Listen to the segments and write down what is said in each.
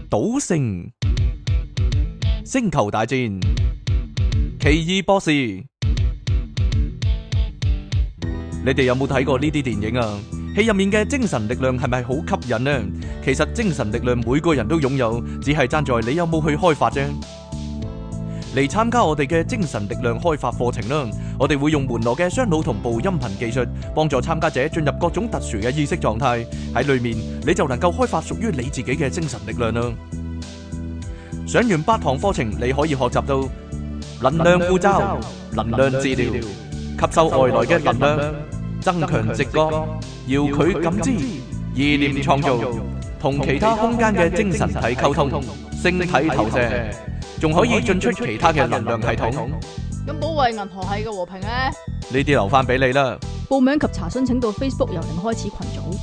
賭聖、星球大戰、奇異博士，你哋有冇睇過呢啲電影啊？戲入面嘅精神力量係咪好吸引呢？其實精神力量每個人都擁有，只係爭在你有冇去開發啫。嚟參加我哋嘅精神力量開發課程啦！我哋會用門羅嘅雙腦同步音頻技術，幫助參加者進入各種特殊嘅意識狀態。喺裏面你就能夠開發屬於你自己嘅精神力量啦！上完8堂課程，你可以學習到能量護罩、能量治療、吸收外來嘅能量、增強直覺、遙距感知、意念創造、同其他空間嘅精神體溝通、星體投射，仲可以進出其他嘅能量系統。 咁保衛銀河系嘅和平咧？ 呢啲留翻俾你啦。 報名及查詢請到 Facebook 由零開始群組。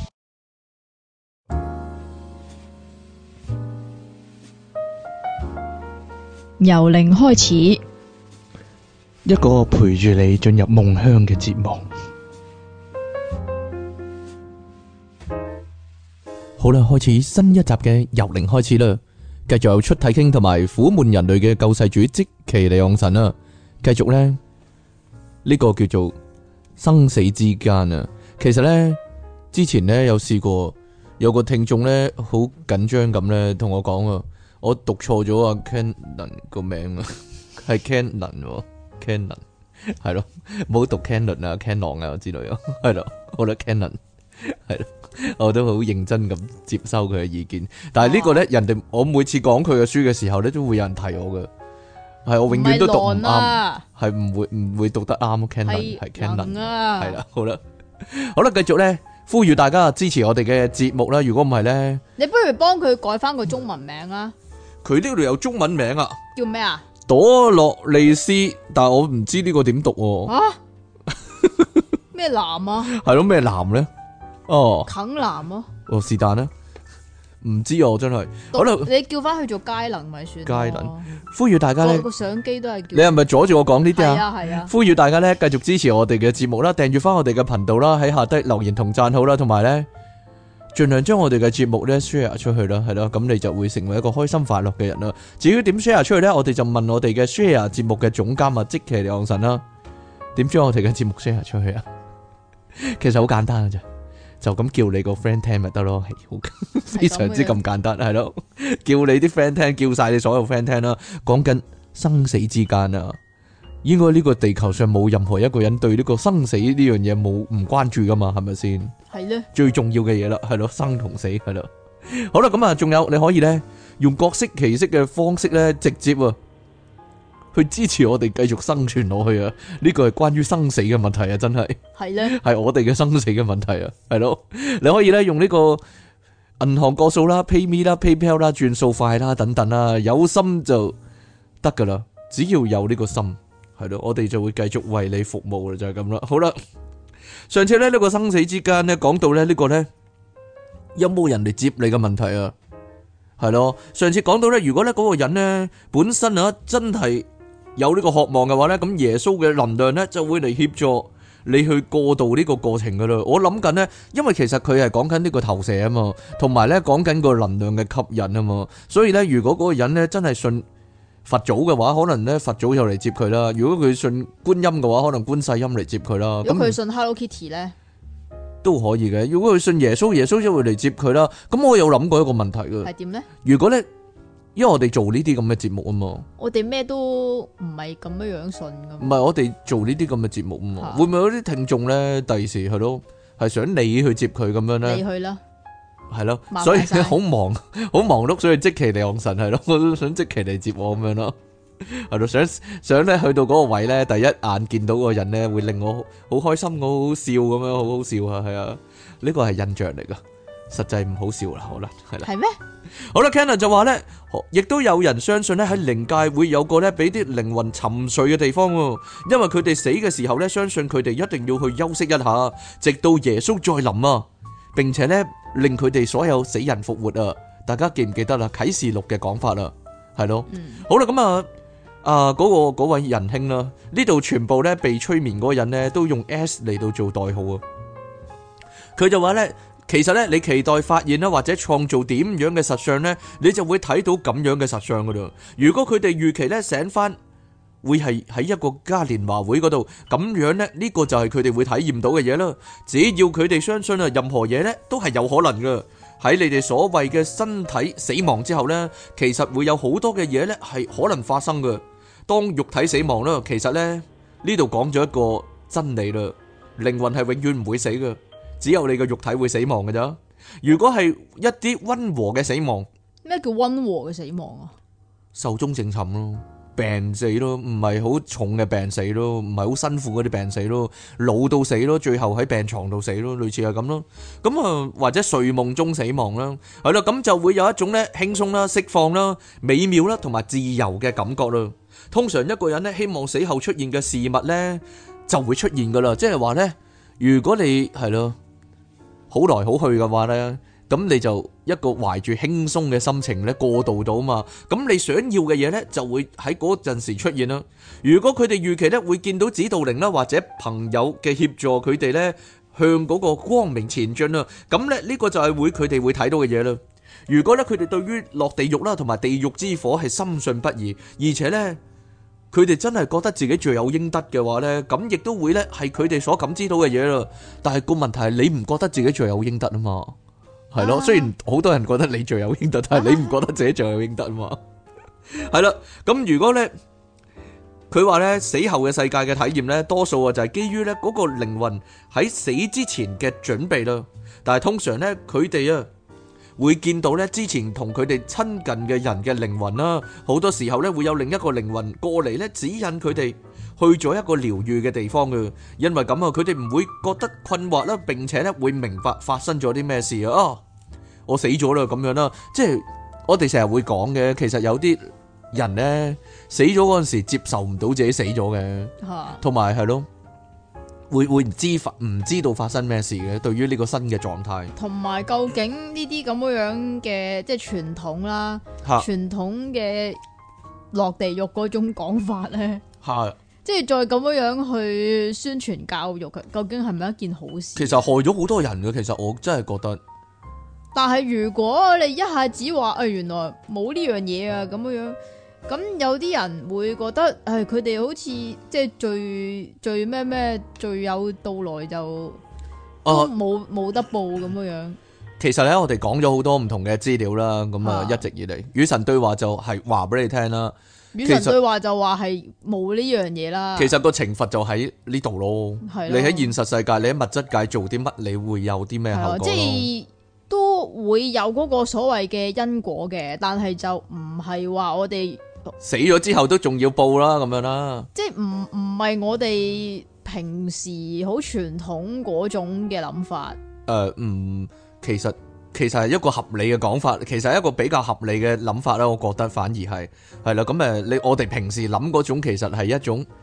由零開始， 一個陪住你進入夢鄉嘅節目。好啦，開始新一集嘅由零開始啦。繼續有出體傾同埋苦悶人類嘅救世主積奇利昂神啦。繼續呢，呢個叫做生死之間啊。其實呢，之前呢有試過有個聽眾呢好緊張咁呢同我講啊，我讀錯咗啊 Canon 個名啊，係 Canon 係咯，冇讀 Canon 啊 Canon 啊之類啊，係咯，好啦 Canon 係咯。我都好認真咁接收佢嘅意見，但係呢個咧，人哋我每次講佢嘅書嘅時候咧，都會有人提我嘅，係我永遠都讀唔啱，係唔會讀得啱。Canon 係 Canon 係啦，好啦，繼續咧，呼籲大家支持我哋嘅節目啦。如果唔係咧， 你不如幫佢改翻個中文名啊！ 佢呢度有中文名啊， 叫咩啊？ 朵洛利斯，但係我唔知呢個點讀喎。 啊？咩男啊？ 係咯，咩男咧？哦， 啃男啊！ 哦，是但啦，唔知啊，我真係。好啦， 你叫翻去做佳能咪算。 佳能，呼籲大家咧， 個相機都係叫。 你係咪阻住我講呢啲啊？ 係啊。 呼籲大家咧繼續支持我哋嘅節目啦，訂閱翻我哋嘅頻道啦，喺下低留言同讚好啦，同埋咧盡量將我哋嘅節目咧 share 出去啦，係咯，咁你就會成為一個開心快樂嘅人啦。至於點 share 出去咧，我哋就問我哋嘅 share 節目嘅總監啊，積奇利昂神啦，點將我哋嘅節目 share 出去啊？其實好簡單嘅啫。就咁叫你個 friend 聽咪得咯，係好非常之咁簡單，係咯，叫你啲 friend 聽，叫晒你所有 friend 聽啦。講緊生死之間啊，應該呢個地球上冇任何一個人對呢個生死呢樣嘢冇唔關注噶嘛，係咪先？係咧，最重要嘅嘢啦，係咯，生同死係咯。好啦，咁啊，仲有你可以咧用各式其式嘅方式咧，直接啊去支持我哋繼續生存落去啊！呢個係關於生死嘅問題啊，真係係咧，係我哋嘅生死嘅問題啊，係咯。你可以咧用呢個銀行個數啦、PayMe 啦、PayPal 啦、轉數快啦等等啦，有心就得噶啦，只要有呢個心，係咯，我哋就會繼續為你服務啦，就係咁啦。好啦，上次咧呢個生死之間咧講到咧呢個咧有冇人嚟接你嘅問題啊？係咯，上次講到咧，如果咧嗰個人咧本身啊真係有呢個渴望嘅話咧，咁耶穌嘅能量咧就會嚟協助你去過渡呢個過程噶啦。我諗緊咧，因為其實佢係講緊呢個投射啊嘛，同埋咧講緊個能量嘅吸引啊嘛，所以咧如果嗰個人咧真係信佛祖嘅話，可能咧佛祖就嚟接佢啦；如果佢信觀音嘅話，可能觀世音嚟接佢啦。 如果佢信 Hello Kitty 咧，都可以嘅。如果佢信耶穌，耶穌就會嚟接佢啦。咁我有諗過一個問題嘅，係點咧？如果咧，因為我哋做呢啲咁嘅節目啊嘛，我哋咩都唔係咁樣信噶。唔係我哋做呢啲咁嘅節目啊嘛，會唔會有啲聽眾咧第時係咯，係想你去接佢咁樣咧？你去啦，係咯，所以好忙碌，所以積淇離岸神係咯，我都想積淇嚟接我咁樣咯，係咯，想咧去到嗰個位咧，第一眼見到嗰個人咧，會令我好開心，我好笑咁樣，好好笑啊，係啊，呢個係印象嚟噶。實際唔好笑啦，可能係啦。係咩？好啦 Cannon 就話咧，亦都有人相信咧喺靈界會有個咧俾啲靈魂沉睡嘅地方，因為佢哋死嘅時候咧，相信佢哋一定要去休息一下，直到耶穌再臨啊，並且咧令佢哋所有死人復活啊！大家記唔記得啦？啟示錄嘅講法啦，係咯。好啦，咁嗰位仁兄啦，呢度全部咧被催眠嗰個人咧都用 S 嚟到做代號啊。佢就話咧。 其實咧，你期待發現啦，或者創造點樣嘅實相呢，你就會睇到咁樣嘅實相噶啦。如果佢哋預期咧醒翻，會係喺一個嘉年華會嗰度，咁樣呢，呢個就係佢哋會體驗到嘅嘢啦。只要佢哋相信啊，任何嘢呢都係有可能噶。喺你哋所謂嘅身體死亡之後呢，其實會有好多嘅嘢呢係可能發生噶。當肉體死亡啦，其實呢，呢度講咗一個真理啦，靈魂係永遠唔會死噶。只有你個肉體會死亡嘅咋。如果係一啲溫和嘅死亡， 咩叫溫和嘅死亡啊？ 壽終正寢咯，病死咯，唔係好重嘅病死咯，唔係好辛苦嗰啲病死咯，老到死咯，最後喺病床度死咯，類似係咁咯。咁啊，或者睡夢中死亡啦，係啦，咁就會有一種咧輕鬆啦、釋放啦、美妙啦同埋自由嘅感覺啦。通常一個人咧希望死後出現嘅事物咧就會出現噶啦，即係話咧，如果你係咯。好來好去嘅話呢，咁你就一個懷住輕鬆嘅心情咧過渡到嘛，咁你想要嘅嘢呢，就會喺嗰陣時出現啦。如果佢哋預期呢會見到指導靈啦或者朋友嘅協助佢哋呢向嗰個光明前進啦，咁咧呢個就係佢哋會睇到嘅嘢啦。如果呢，佢哋對於落地獄啦同埋地獄之火係深信不疑，而且呢，佢哋真係覺得自己罪有應得嘅話呢，咁亦都會呢係佢哋所感知到嘅嘢啦。但係個問題係你唔覺得自己罪有應得啊嘛？係咯，雖然好多人覺得你罪有應得，但係你唔覺得自己罪有應得啊嘛？係啦，咁如果呢，佢話呢死後嘅世界嘅體驗呢，多數啊就係基於呢嗰個靈魂喺死之前嘅準備啦。但係通常呢，佢哋啊會見到咧之前同佢哋親近嘅人嘅靈魂啦，好多時候咧會有另一個靈魂過嚟咧指引佢哋去咗一個療愈嘅地方嘅，因為咁啊，佢哋唔會覺得困惑啦，並且咧會明白發生咗啲咩事啊，我死咗啦咁樣啦，即係我哋成日會講嘅，其實有啲人咧死咗嗰陣時接受唔到自己死咗嘅，同埋係咯。會唔知道發生咩事嘅，對於呢個新嘅狀態， 同埋究竟呢啲咁樣嘅即係傳統啦，傳統嘅落地獄嗰種講法咧，即係再咁樣去宣傳教育，究竟係咪一件好事？其實害咗好多人嘅，其實我真係覺得。 但係如果你一下子話原來冇呢樣嘢啊咁樣。咁有啲人會覺得，佢哋好似即係最咩最有到來就冇得報咁樣。 其實咧，我哋講咗好多唔同嘅資料啦，咁啊一直以嚟，與神對話就係話俾你聽啦。 與神對話就話係冇呢樣嘢啦。 其實個懲罰就喺呢度咯。你喺現實世界，你喺物質界做啲乜，你會有啲咩後果咯？即係都會有嗰個所謂嘅因果嘅，但係就唔係話我哋。 死咗之後都仲要報啦，咁樣啦， 即係唔係我哋平時好傳統嗰種嘅諗法。 其實係一個合理嘅講法，其實係一個比較合理嘅諗法啦。我覺得反而係啦，咁我哋平時諗嗰種其實係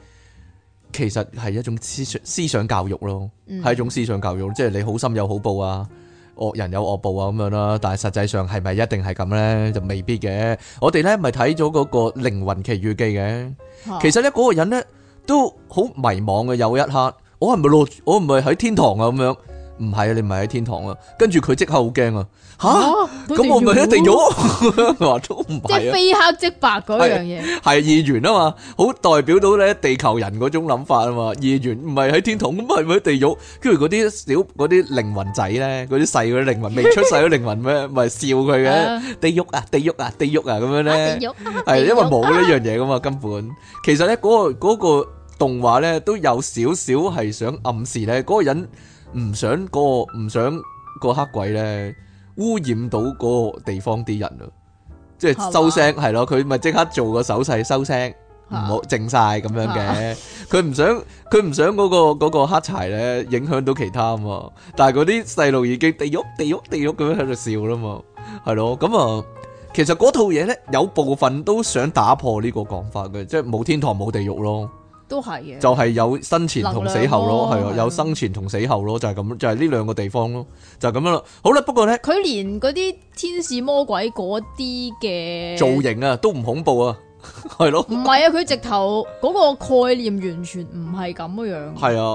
一種思想教育咯，係一種思想教育，即係你好心有好報啊。惡人有惡報啊咁樣啦，但係實際上係咪一定係咁呢？就未必嘅。我哋呢咪睇咗嗰個靈魂奇遇記嘅，其實呢嗰個人呢都好迷茫嘅。有一刻，我係咪喺天堂啊咁樣？唔係啊，你唔係喺天堂啊。跟住佢即刻好驚啊！咁我咪一定咗，話都唔係，即係非黑即白嗰樣嘢， 係二元啊嘛，好代表到咧地球人嗰種諗法啊嘛。二元唔係喺天堂，咁係咪喺地獄？跟住嗰啲靈魂仔咧，嗰啲細嗰啲靈魂未出世嗰靈魂咩，咪笑佢嘅地獄啊，地獄啊，地獄啊咁樣咧，係因為冇呢樣嘢噶嘛，根本其實咧嗰個動畫咧都有少少係想暗示咧，嗰個人唔想個黑鬼咧污染到嗰個地方啲人啊，即係收聲係咯，佢咪即刻做個手勢收聲，唔好靜晒咁樣嘅。佢唔想嗰個黑柴咧影響到其他啊嘛。但係嗰啲細路已經地獄咁樣喺度笑啦嘛，係咯。咁啊，其實嗰套嘢咧有部分都想打破呢個講法嘅，即係冇天堂冇地獄咯。 都係嘅， 就係有生前同死後咯，係啊，有生前同死後咯，就係咁，就係呢兩個地方咯，就係咁樣啦。好啦，不過咧， 佢連嗰啲天使魔鬼嗰啲嘅造型啊，都唔恐怖啊，係咯。 唔係啊，佢直頭嗰個概念完全唔係咁樣。 係啊，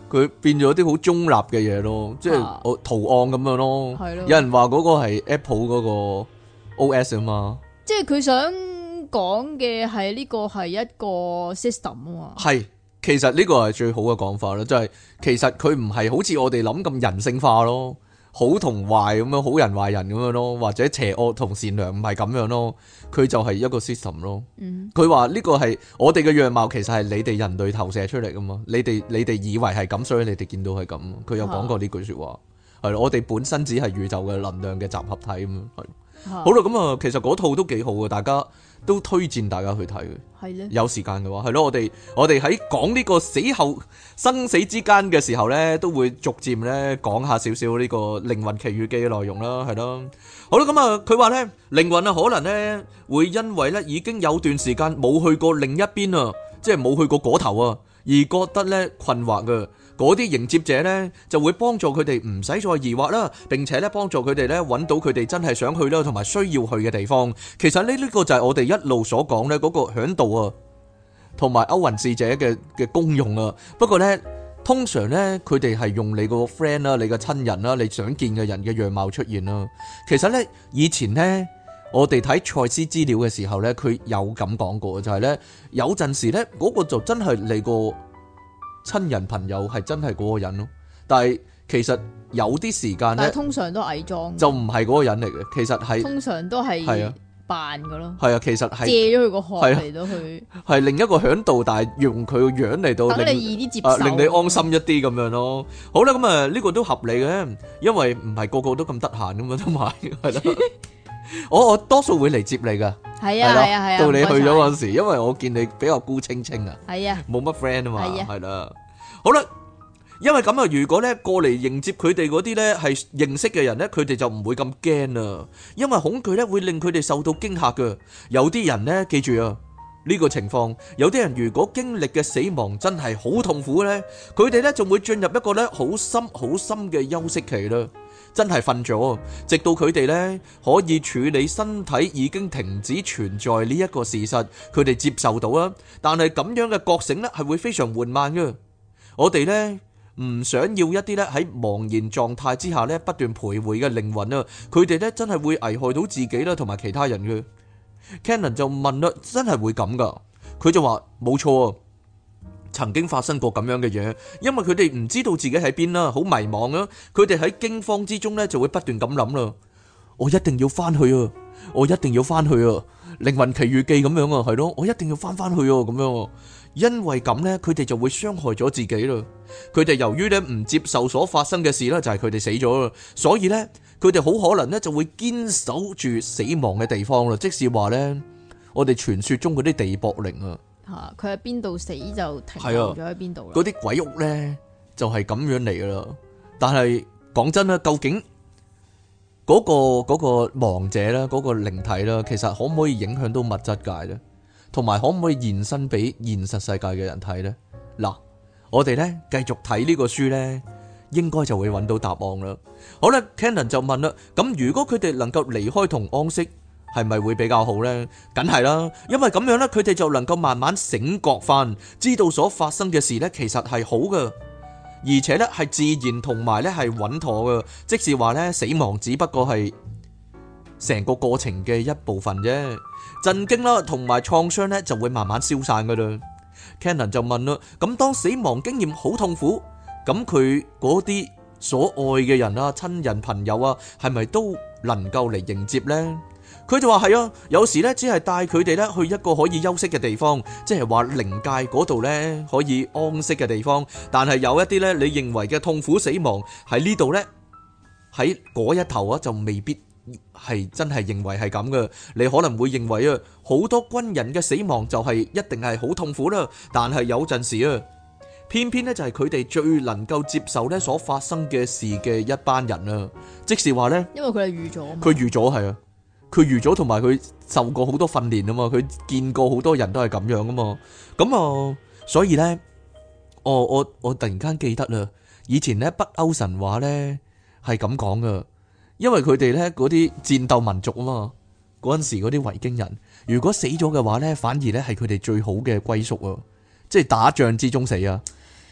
佢變咗啲好中立嘅嘢咯，即係啊圖案咁樣咯。 係咯有人話嗰個係 Apple 嗰個 OS 啊嘛， 即係佢想講嘅係呢個係一個 system 啊嘛。 係其實呢個係最好嘅講法啦，即係其實佢唔係好似我哋諗咁人性化咯，好同壞咁樣，好人壞人咁樣咯，或者邪惡同善良唔係咁樣咯，佢就係一個 system 咯。 嗯， 佢話呢個係我哋嘅樣貌，其實係你哋人類投射出嚟噶嘛，你哋以為係咁，所以你哋見到係咁。佢有講過呢句說話，係咯，我哋本身只係宇宙嘅能量嘅集合體咁樣，係。好啦，咁啊，其實嗰套都幾好嘅，大家都推薦大家去睇嘅。 係咧， 有時間嘅話，係咯，我哋喺講呢個死後生死之間嘅時候呢，都會逐漸呢講下少少呢個靈魂奇遇記嘅內容啦，係咯。好啦，咁啊，佢話呢，靈魂啊，可能呢會因為呢已經有段時間冇去過另一邊啊，即係冇去過嗰頭啊，而覺得呢困惑嘅。嗰啲迎接者呢，就會幫助佢哋唔使再疑惑啦，並且呢幫助佢哋呢揾到佢哋真係想去啦，同埋需要去嘅地方。其實呢個就係我哋一路所講呢嗰個嚮導啊，同埋歐雲使者嘅功用啊。不過呢，通常呢，佢哋係用你個 friend 啦、你嘅親人啦、你想見嘅人嘅樣貌出現啦。其實呢，以前呢，我哋睇賽斯資料嘅時候呢，佢有咁講過，就係呢，有陣時呢，嗰個就真係你個親人朋友係真係嗰個人咯，但係其實有啲時間咧， 但係通常都偽裝嘅， 就唔係嗰個人嚟嘅，其實係通常都係係啊扮嘅咯， 係啊，其實係借咗佢個殼係啊嚟到去， 係另一個響度，但係用佢個樣嚟到等令你易啲接受， 令你安心一啲咁樣咯。好啦，咁啊呢個都合理嘅，因為唔係個個都咁得閒咁嘛，同埋係啦。我多數會嚟接你噶， 係啊係咯係啊係啊， 到你去咗唔嗰陣時，因為我見你比較孤清清啊。 該晒係啊， 冇乜 friend 啊嘛， 係啊係啦。好啦，因為咁啊，如果咧過嚟迎接佢哋嗰啲咧係認識嘅人咧，佢哋就唔會咁驚啦。因為恐懼咧會令佢哋受到驚嚇噶。有啲人咧，記住啊，呢個情況，有啲人如果經歷嘅死亡真係好痛苦咧，佢哋咧就會進入一個咧好深好深嘅休息期啦。真係瞓咗，直到佢哋呢可以處理身體已經停止存在呢一個事實，佢哋接受到啦。但係咁樣嘅覺醒呢係會非常緩慢嘅。我哋呢唔想要一啲呢喺茫然狀態之下呢不斷徘徊嘅靈魂啊，佢哋呢真係會危害到自己啦，同埋其他人嘅。Cannon 就問啦，真係會咁噶？佢就話冇錯啊。曾經發生過咁樣嘅嘢，因為佢哋唔知道自己喺邊啦，好迷茫啊！佢哋喺驚慌之中呢，就會不斷咁諗啦，我一定要翻去啊！我一定要翻去啊！靈魂奇遇記咁樣啊，係咯，我一定要翻去啊！咁樣，因為咁呢，佢哋就會傷害咗自己啦。佢哋由於呢唔接受所發生嘅事啦，就係佢哋死咗啦，所以呢，佢哋好可能呢就會堅守住死亡嘅地方啦。即是話呢，我哋傳說中嗰啲地縛靈啊。 吓佢喺邊度死就停留咗喺邊度啦。 嗰啲鬼屋呢，就係咁樣嚟噶啦。但係講真啦，究竟嗰個亡者啦，嗰個靈體啦，其實可唔可以影響到物質界呢？同埋可唔可以現身俾現實世界嘅人睇呢？嗱，我哋呢繼續睇呢個書呢，應該就會揾到答案啦。好啦，Cannon 就問啦，咁如果佢哋能夠離開同安息，係咪會比較好呢？梗係啦，因為咁樣呢，佢哋就能夠慢慢醒覺翻，知道所發生嘅事呢，其實係好噶，而且呢係自然同埋呢係穩妥噶。即是話呢，死亡只不過係成個過程嘅一部分啫。震驚啦，同埋創傷呢就會慢慢消散噶啦。Cannon 就問啦，咁當死亡經驗好痛苦，咁佢嗰啲所愛嘅人啊、親人朋友啊，係咪都能夠嚟迎接呢？佢就話係啊，有時咧只係帶佢哋咧去一個可以休息嘅地方，即係話靈界嗰度咧可以安息嘅地方。但係有一啲咧，你認為嘅痛苦死亡喺呢度咧，喺嗰一頭啊，就未必係真係認為係咁嘅。你可能會認為啊，好多軍人嘅死亡就係一定係好痛苦啦。但係有陣時啊，偏偏咧就係佢哋最能夠接受咧所發生嘅事嘅一班人啊。即是話咧， 因為佢哋預咗嘛， 佢預咗係啊。佢預咗，同埋佢受過好多訓練啊嘛，佢見過好多人都係咁樣啊嘛，咁啊，所以咧，我突然間記得啦，以前咧北歐神話咧係咁講噶，因為佢哋咧嗰啲戰鬥民族啊嘛，嗰陣時嗰啲維京人，如果死咗嘅話咧，反而咧係佢哋最好嘅歸宿啊，即係打仗之中死啊，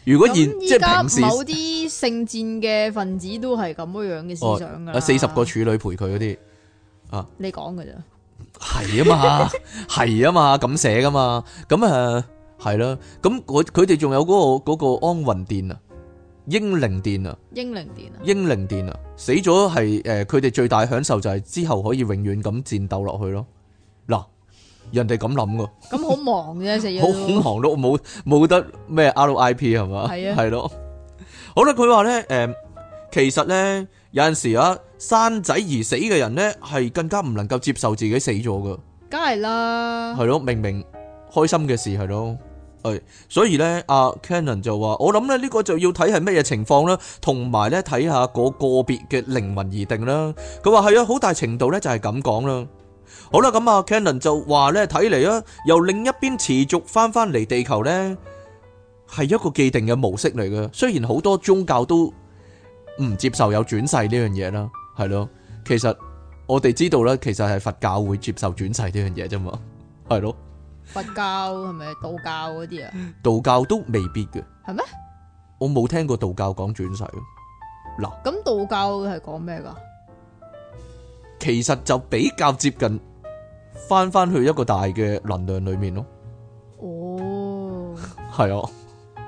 如果咁即係依家平時某啲聖戰嘅分子都係咁樣嘅思想噶啦。 40個處女陪佢嗰啲你講噶咋？ 係啊嘛，係啊嘛，咁寫噶嘛，咁係啦，咁佢哋仲有嗰個安魂殿啊，英靈殿啊， 英靈殿啊， 英靈殿啊，死咗係佢哋最大享受就係之後可以永遠咁戰鬥落去咯。嗱，人哋咁諗噶， 咁好忙啫，死咗好都忙碌，冇得咩 RIP 係嘛？ 係啊係咯。好啦，佢話咧其實咧有陣時啊，生仔而死嘅人咧係更加唔能夠接受自己死咗噶。 梗係啦。 係咯，明明開心嘅事係咯，所以咧，阿 Cannon 就話：我諗咧呢個就要睇係乜嘢情況啦，同埋咧睇下嗰個別嘅靈魂而定啦。佢話係啊，好大程度咧就係咁講啦。好啦，咁啊 Cannon 就話咧，睇嚟啊，由另一邊持續翻嚟地球咧，係一個既定嘅模式嚟嘅。雖然好多宗教都唔接受有轉世呢樣嘢啦，係咯，其實我哋知道啦，其實係佛教會接受轉世呢樣嘢啫嘛，係咯。 佛教係咪道教嗰啲啊？ 道教都未必嘅， 係咩？ 我冇聽過道教講轉世。嗱， 咁道教係講咩噶？ 其實就比較接近翻去一個大嘅能量裏面咯。 哦， 係啊，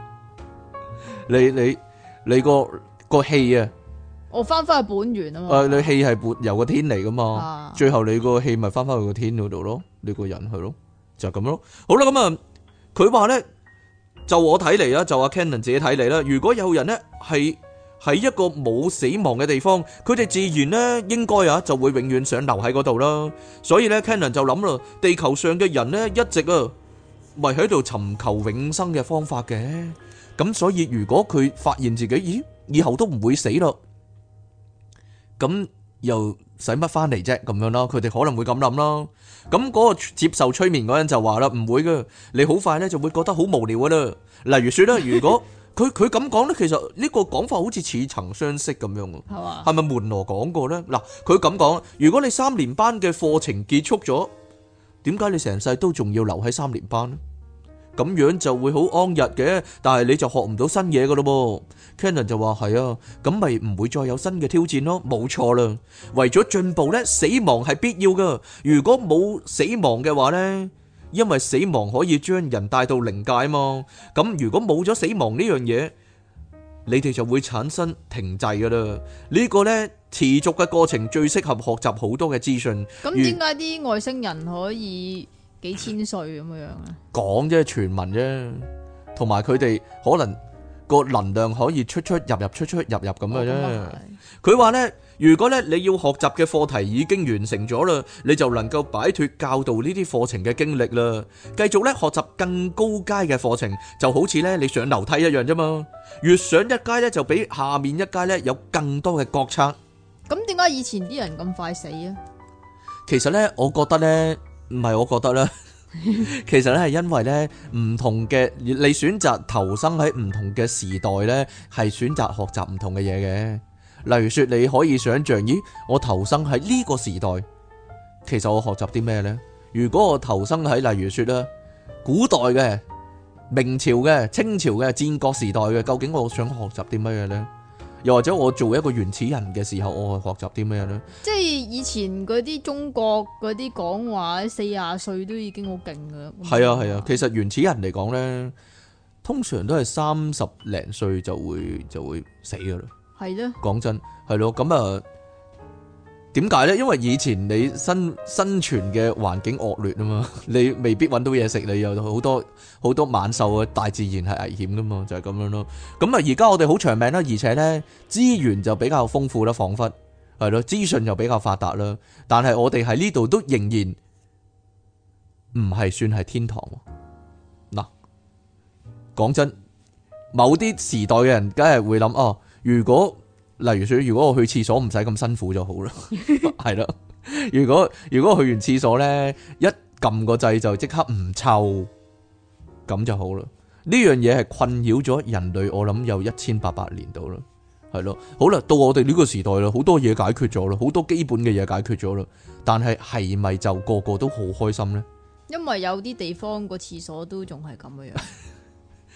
你個氣啊， 我翻去本源啊嘛。 你氣係由個天嚟噶嘛， 啊最後你個氣咪翻去個天嗰度咯，你個人係咯，就咁咯。好啦，咁啊，佢話咧，就我睇嚟啦，就阿 Cannon 自己睇嚟啦，如果有人咧係喺一個冇死亡嘅地方，佢哋自然咧應該就會永遠想留喺嗰度啦。所以咧 Cannon 就諗啦，地球上嘅人咧一直咪喺度尋求永生嘅方法嘅。咁所以如果佢發現自己以後都唔會死咯，咁又使乜翻嚟啫？咁樣啦，佢哋可能會咁諗啦。咁嗰個接受催眠嗰人就話啦，唔會噶，你好快咧就會覺得好無聊噶啦。例如說啦，如果佢咁講咧，其實呢個講法好似似曾相識咁樣啊， 係嘛？ 係咪門羅講過咧？嗱，佢咁講，如果你3年班嘅課程結束咗，點解你成世都仲要留喺3年班呢？咁樣就會好安逸嘅，但係你就學唔到新嘢噶咯噃。Cannon 就話係啊，咁咪唔會再有新嘅挑戰咯，冇錯啦。為咗進步呢，死亡係必要噶。如果冇死亡嘅話呢，因為死亡可以將人帶到靈界嘛。咁如果冇咗死亡呢樣嘢，你哋就會產生停滯噶啦。呢個呢，持續嘅過程最適合學習好多嘅資訊。 咁點解啲外星人可以幾千歲咁樣啊？ 講啫，傳聞啫，同埋佢哋可能個能量可以出入入出入入咁嘅啫。佢話呢，如果咧你要學習嘅課題已經完成咗啦，你就能夠擺脫教導呢啲課程嘅經歷啦，繼續咧學習更高階嘅課程，就好似咧你上樓梯一樣啫嘛。越上一階咧，就比下面一階咧有更多嘅覺察。 咁點解以前啲人咁快死啊？ 其實呢，我覺得呢，唔係我覺得啦。其實咧係因為咧唔同嘅，你選擇投生喺唔同嘅時代咧，係選擇學習唔同嘅嘢嘅。例如說，你可以想象，咦，我投生喺呢個時代，其實我學習啲咩呢？如果我投生喺例如說啦，古代嘅、明朝嘅、清朝嘅、戰國時代嘅，究竟我想學習啲乜嘢呢？又或者我做一個原始人嘅時候，我學習啲咩呢？ 即係以前嗰啲中國嗰啲講話40歲都已經好勁噶。 係啊係啊，其實原始人嚟講呢，通常都係30零歲就會死噶啦。 係咯， 講真係咯，咁啊，點解呢？因為以前你生存嘅環境惡劣啊嘛，你未必揾到嘢食，你有好多猛獸啊，大自然係危險噶嘛，就係咁樣咯。咁啊，而家我哋好長命啦，而且呢資源就比較豐富啦，彷彿係咯，資訊又比較發達啦。但係我哋喺呢度都仍然唔係算係天堂。嗱，講真，某啲時代嘅人梗係會諗哦。如果例如說，如果我去廁所唔使咁辛苦就好啦，係啦。如果我去完廁所呢，一撳個掣就即刻唔臭，咁就好啦。呢樣嘢係困擾咗人類，我諗有1800年到啦，係咯。好啦，到我哋呢個時代啦，好多嘢解決咗啦，好多基本嘅嘢解決咗啦。但係係咪就個個都好開心呢？ 因為有啲地方個廁所都仲係咁嘅樣。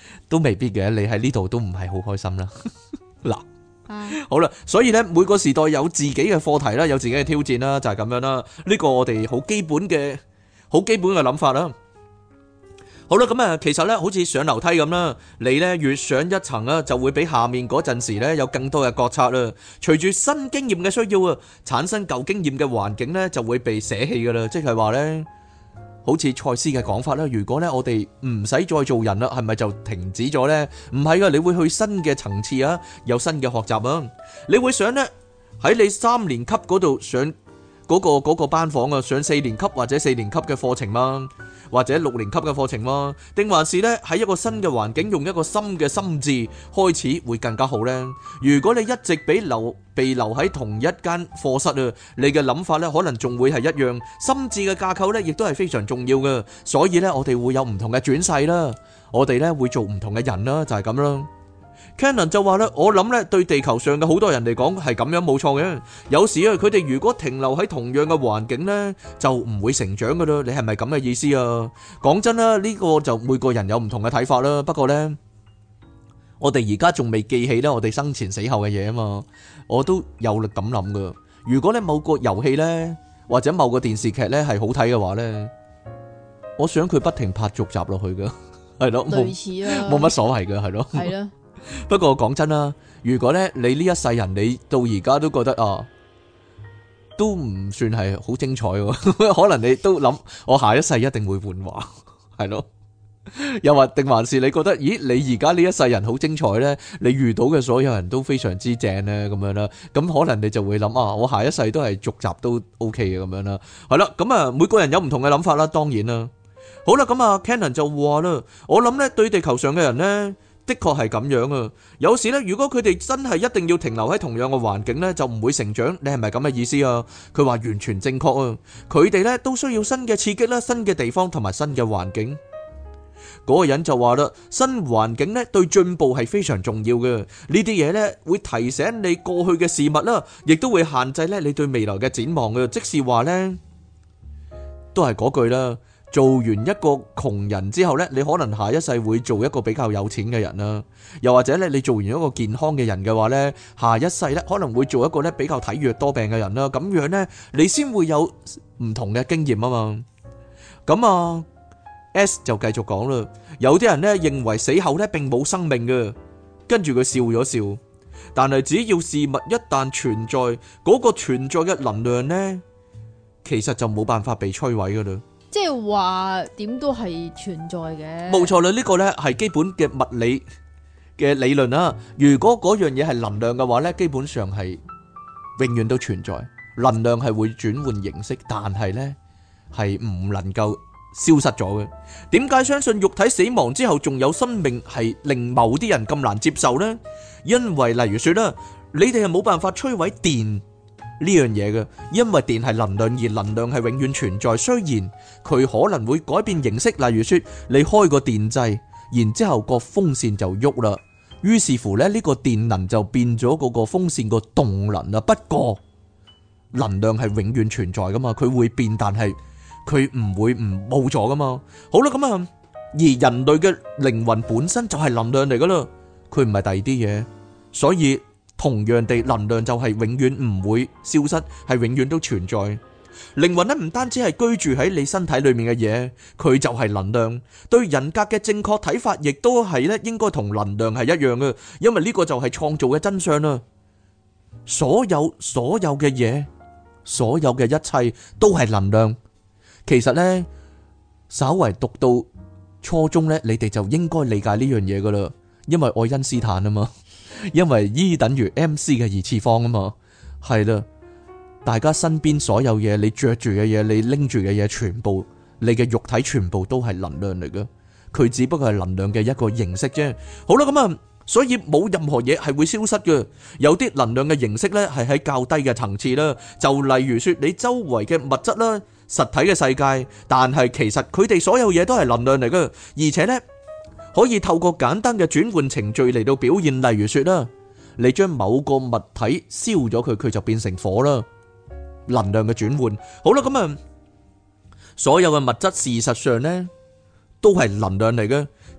都未必嘅，你喺呢度都唔係好開心啦。嗱， 啊好啦，所以咧每個時代有自己嘅課題啦，有自己嘅挑戰啦，就係咁樣啦。呢個我哋好基本嘅諗法啦。好啦，咁啊，其實咧好似上樓梯咁啦，你咧越上一層啊，就會比下面嗰陣時咧有更多嘅覺察啦。隨住新經驗嘅需要啊，產生舊經驗嘅環境咧就會被捨棄噶啦，即係話咧。好似賽斯嘅講法啦，如果咧我哋唔使再做人啦，係咪就停止咗呢？唔係噶，你會去新嘅層次啊，有新嘅學習啊，你會想呢，喺你3年級嗰度上嗰個班房啊，上4年級或者4年級嘅課程嗎？或者6年級嘅課程嗎？定還是呢，喺一個新嘅環境，用一個新嘅心智開始會更加好呢？如果你一直被留喺同一間課室啊，你嘅諗法呢可能仲會係一樣，心智嘅架構呢亦都係非常重要嘅。所以呢，我哋會有唔同嘅轉世啦，我哋呢會做唔同嘅人啦，就係咁啦。Cannon 就話咧，我諗咧對地球上嘅好多人嚟講係咁樣冇錯嘅。有時啊，佢哋如果停留喺同樣嘅環境咧，就唔會成長噶啦。你係咪咁嘅意思啊？講真啦，呢個就每個人有唔同嘅睇法啦。不過咧，我哋而家仲未記起咧，我哋生前死後嘅嘢啊嘛。我都有力咁諗噶。如果咧某個遊戲咧或者某個電視劇咧係好睇嘅話咧，我想佢不停拍續集落去噶，係咯， 類似啊， 冇乜所謂噶，係咯， 係啦。 不過講真啦，如果咧你呢一世人你到而家都覺得啊，都唔算係好精彩喎，可能你都諗我下一世一定會換話，係咯，又或定還是你覺得，咦，你而家呢一世人好精彩咧，你遇到嘅所有人都非常之正咧，咁樣啦，咁可能你就會諗啊，我下一世都係續集都 OK 嘅咁樣啦，係啦，咁啊每個人有唔同嘅諗法啦，當然啦，好啦，咁啊 Cannon 就話啦，我諗咧對地球上嘅人咧。的確係咁樣啊！有時咧，如果佢哋真係一定要停留喺同樣嘅環境咧，就唔會成長。你係咪咁嘅意思啊？佢話完全正確啊！佢哋咧都需要新嘅刺激啦、新嘅地方同埋新嘅環境。嗰個人就話啦，新環境咧對進步係非常重要嘅。呢啲嘢咧會提醒你過去嘅事物啦，亦都會限制咧你對未來嘅展望嘅。即是話咧，都係嗰句啦。做完一個窮人之後呢，你可能下一世會做一個比較有錢嘅人啦，又或者咧你做完一個健康嘅人嘅話呢，下一世呢可能會做一個咧比較體弱多病嘅人啦，咁樣呢，你先會有唔同嘅經驗啊嘛。咁啊 S 就繼續講啦，有啲人呢認為死後呢並冇生命嘅，跟住佢笑咗笑，但係只要事物一旦存在，嗰個存在嘅能量呢，其實就冇辦法被摧毀噶啦。 即係話點都係存在嘅， 冇錯啦，呢個呢係基本嘅物理嘅理論啦。如果嗰樣嘢係能量嘅話呢，基本上係永遠都存在。能量係會轉換形式，但係呢係唔能夠消失咗嘅。點解相信肉體死亡之後仲有生命係令某啲人咁難接受呢？因為例如說啦，你哋係冇辦法摧毀電呢樣嘢嘅，因為電係能量，而能量係永遠存在。雖然佢可能會改變形式，例如說你開個電掣，然之後個風扇就喐啦，於是乎咧呢個電能就變咗嗰個風扇個動能啦。不過能量係永遠存在噶嘛，佢會變，但係佢唔會唔冇咗噶嘛。好啦，咁啊，而人類嘅靈魂本身就係能量嚟噶啦，佢唔係第二啲嘢，所以。同樣地，能量就係永遠唔會消失，係永遠都存在。靈魂咧唔單止係居住喺你身體裏面嘅嘢，佢就係能量。對人格嘅正確睇法，亦都係咧應該同能量係一樣嘅，因為呢個就係創造嘅真相啦。所有嘅嘢，所有嘅一切都係能量。其實呢，稍為讀到初中呢，你哋就應該理解呢樣嘢噶啦，因為愛因斯坦啊嘛。因為 E 等於 MC 嘅二次方啊嘛，係啦，大家身邊所有嘢，你着住嘅嘢，你拎住嘅嘢，全部你嘅肉體全部都係能量嚟嘅，佢只不過係能量嘅一個形式啫。好啦，咁啊，所以冇任何嘢係會消失嘅，有啲能量嘅形式呢係喺較低嘅層次啦，就例如說你周圍嘅物質啦、實體嘅世界，但係其實佢哋所有嘢都係能量嚟嘅，而且呢。可以透過簡單嘅轉換程序嚟到表現，例如說啦，你將某個物體燒咗佢，佢就變成火啦。能量嘅轉換，好啦，咁啊，所有嘅物質事實上呢都係能量嚟嘅，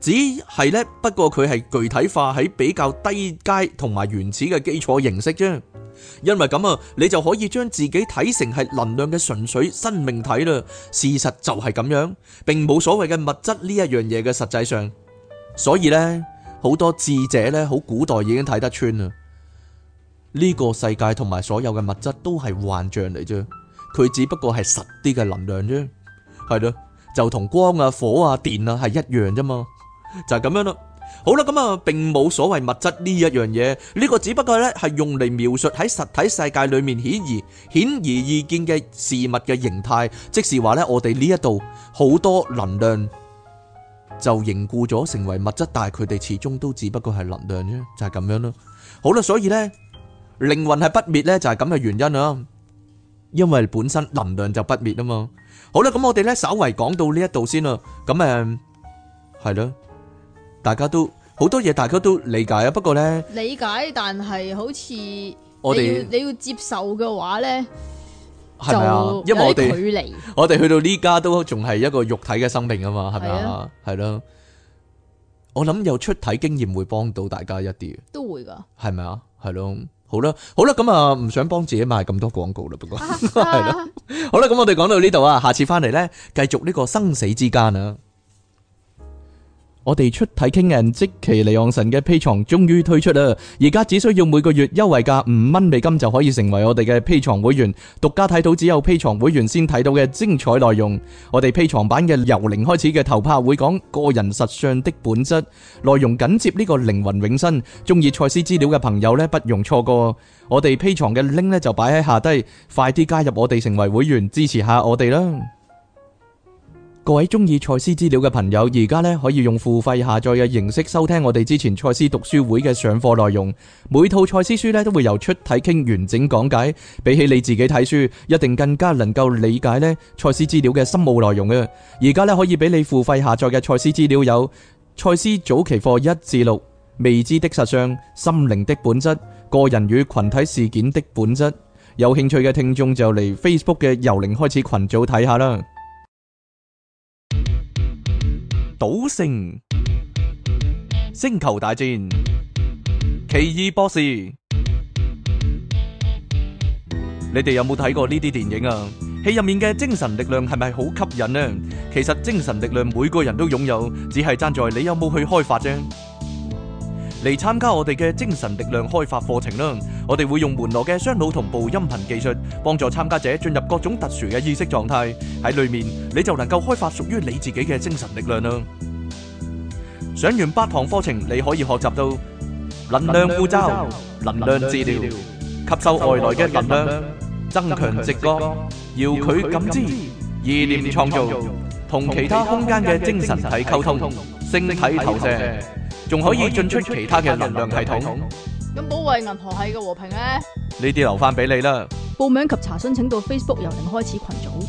只係呢，不過佢係具體化喺比較低階同埋原始嘅基礎形式啫。因為咁啊，你就可以將自己睇成係能量嘅純粹生命體啦。事實就係咁樣，並冇所謂嘅物質呢一樣嘢嘅實際上。所以呢，好多智者呢，好古代已經睇得穿啦。呢個世界同埋所有嘅物質都係幻象嚟啫，佢只不過係實啲嘅能量啫，係咯，就同光啊、火啊、電啊係一樣啫嘛，就係咁樣啦。好啦，咁啊，並冇所謂物質呢一樣嘢，呢個只不過咧係用嚟描述喺實體世界裏面顯而易見嘅事物嘅形態，即是話咧，我哋呢一度好多能量就凝固咗成為物質，但係佢哋始終都只不過係能量啫，就係咁樣咯。好啦，所以咧靈魂係不滅咧，就係咁嘅原因啊，因為本身能量就不滅啊嘛。好啦，咁我哋咧稍為講到呢一度先啦，咁係咯。大家都好多嘢，大家都理解啊。不過呢， 理解，但係好似我哋你要接受嘅話呢， 係咪啊？因為有啲距離， 我哋去到呢家都仲係一個肉體嘅生命啊嘛，係咪啊？係咯。我諗有出體經驗會幫到大家一啲， 都會噶， 係咪啊？係咯。好啦，好啦，咁啊，唔想幫自己賣咁多廣告啦。不過係啦。好啦，咁我哋講到呢度啊，下次翻嚟呢，繼續呢個生死之間啊。我哋出體傾人即其離岸神嘅 Patreon 終於推出啦！而家只需要每個月優惠價$5就可以成為我哋嘅 Patreon 會員，獨家睇到只有 Patreon 會員先睇到嘅精彩內容。我哋 Patreon 版嘅由零開始嘅頭拍會講個人實相的本質，內容緊接呢個靈魂永生。中意賽斯資料嘅朋友呢，不容錯過。我哋 Patreon 嘅 link 呢就擺喺下低，快啲加入我哋成為會員，支持下我哋啦！各位中意賽斯資料嘅朋友，而家咧可以用付費下載嘅形式收聽我哋之前賽斯讀書會嘅上課內容。每套賽斯書咧都會由出體傾完整講解，比起你自己睇書，一定更加能夠理解咧賽斯資料嘅深奧內容嘅。而家咧可以俾你付費下載嘅賽斯資料有賽斯早期課1至6、未知的實相、心靈的本質、個人與群體事件的本質。有興趣嘅聽眾就嚟 Facebook 嘅由零開始群組睇下啦。賭聖、星球大戰、奇異博士，你哋有冇睇過呢啲電影啊？戲入面嘅精神力量係咪好吸引呢？其實精神力量每個人都擁有，只係爭在你有冇去開發啫。嚟參加我哋嘅精神力量開發課程啦！我哋會用門羅嘅雙腦同步音頻技術，幫助參加者進入各種特殊嘅意識狀態。喺裏面你就能夠開發屬於你自己嘅精神力量啦！上完8堂課程，你可以學習到能量護罩、能量治療、吸收外來嘅能量、增強直覺、遙距感知、意念創造、同其他空間嘅精神體溝通、星體投射，仲可以進出其他嘅能量系統。 咁保衛銀河系嘅和平呢？ 呢啲留翻俾你啦。 報名及查詢請到 Facebook 由零開始群組。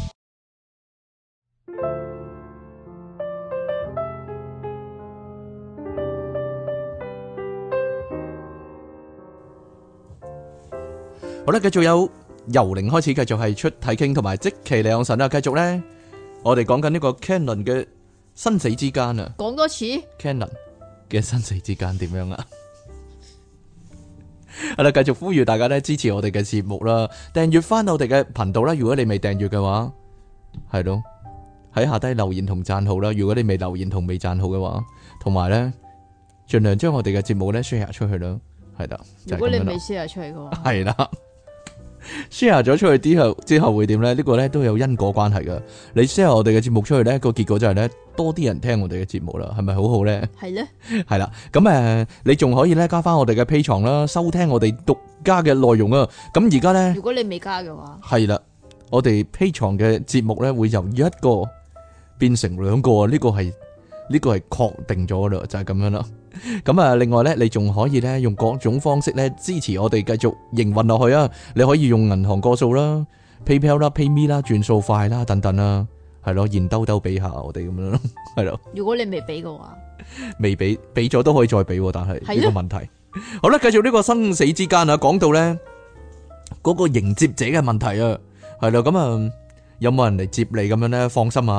好啦，繼續有由零開始，繼續係出體傾同埋即其離岸神啊！繼續咧，我哋講緊呢個 Canon 嘅生死之間啊！ 講多次 Canon 嘅生死之間點樣啊？係啦，繼續呼籲大家咧支持我哋嘅節目啦，訂閱翻我哋嘅頻道啦。如果你未訂閱嘅話，係咯，喺下低留言同讚好啦。如果你未留言同未讚好嘅話，同埋咧盡量將我哋嘅節目咧 share 出去啦。係啦， 如果你未 share 出去嘅話， 係啦。share 咗出去之後會點咧？呢個咧都有因果關係噶。你 share 我哋嘅節目出去咧，個結果就係咧多啲人聽我哋嘅節目啦，係咪好好咧？ 係咧， 係啦。咁你仲可以咧加翻我哋嘅 Patreon啦，收聽我哋獨家嘅內容啊。咁而家咧， 如果你未加嘅話， 係啦，我哋 Patreon嘅節目咧會由一個變成2個，呢個係確定咗啦，就係咁樣啦。咁另外咧，你仲可以咧用各種方式咧支持我哋繼續營運落去啊！你可以用銀行個數啦、PayPal 啦、PayMe 啦、轉數快啦等等啦，係咯，現兜兜俾下我哋咁樣咯，係咯。如果你未俾嘅話， 未俾咗都可以再俾，但係呢個問題。好啦，繼續呢個生死之間啊，講到咧嗰個迎接者嘅問題啊，係啦，咁有冇人嚟接你咁樣咧？放心啊！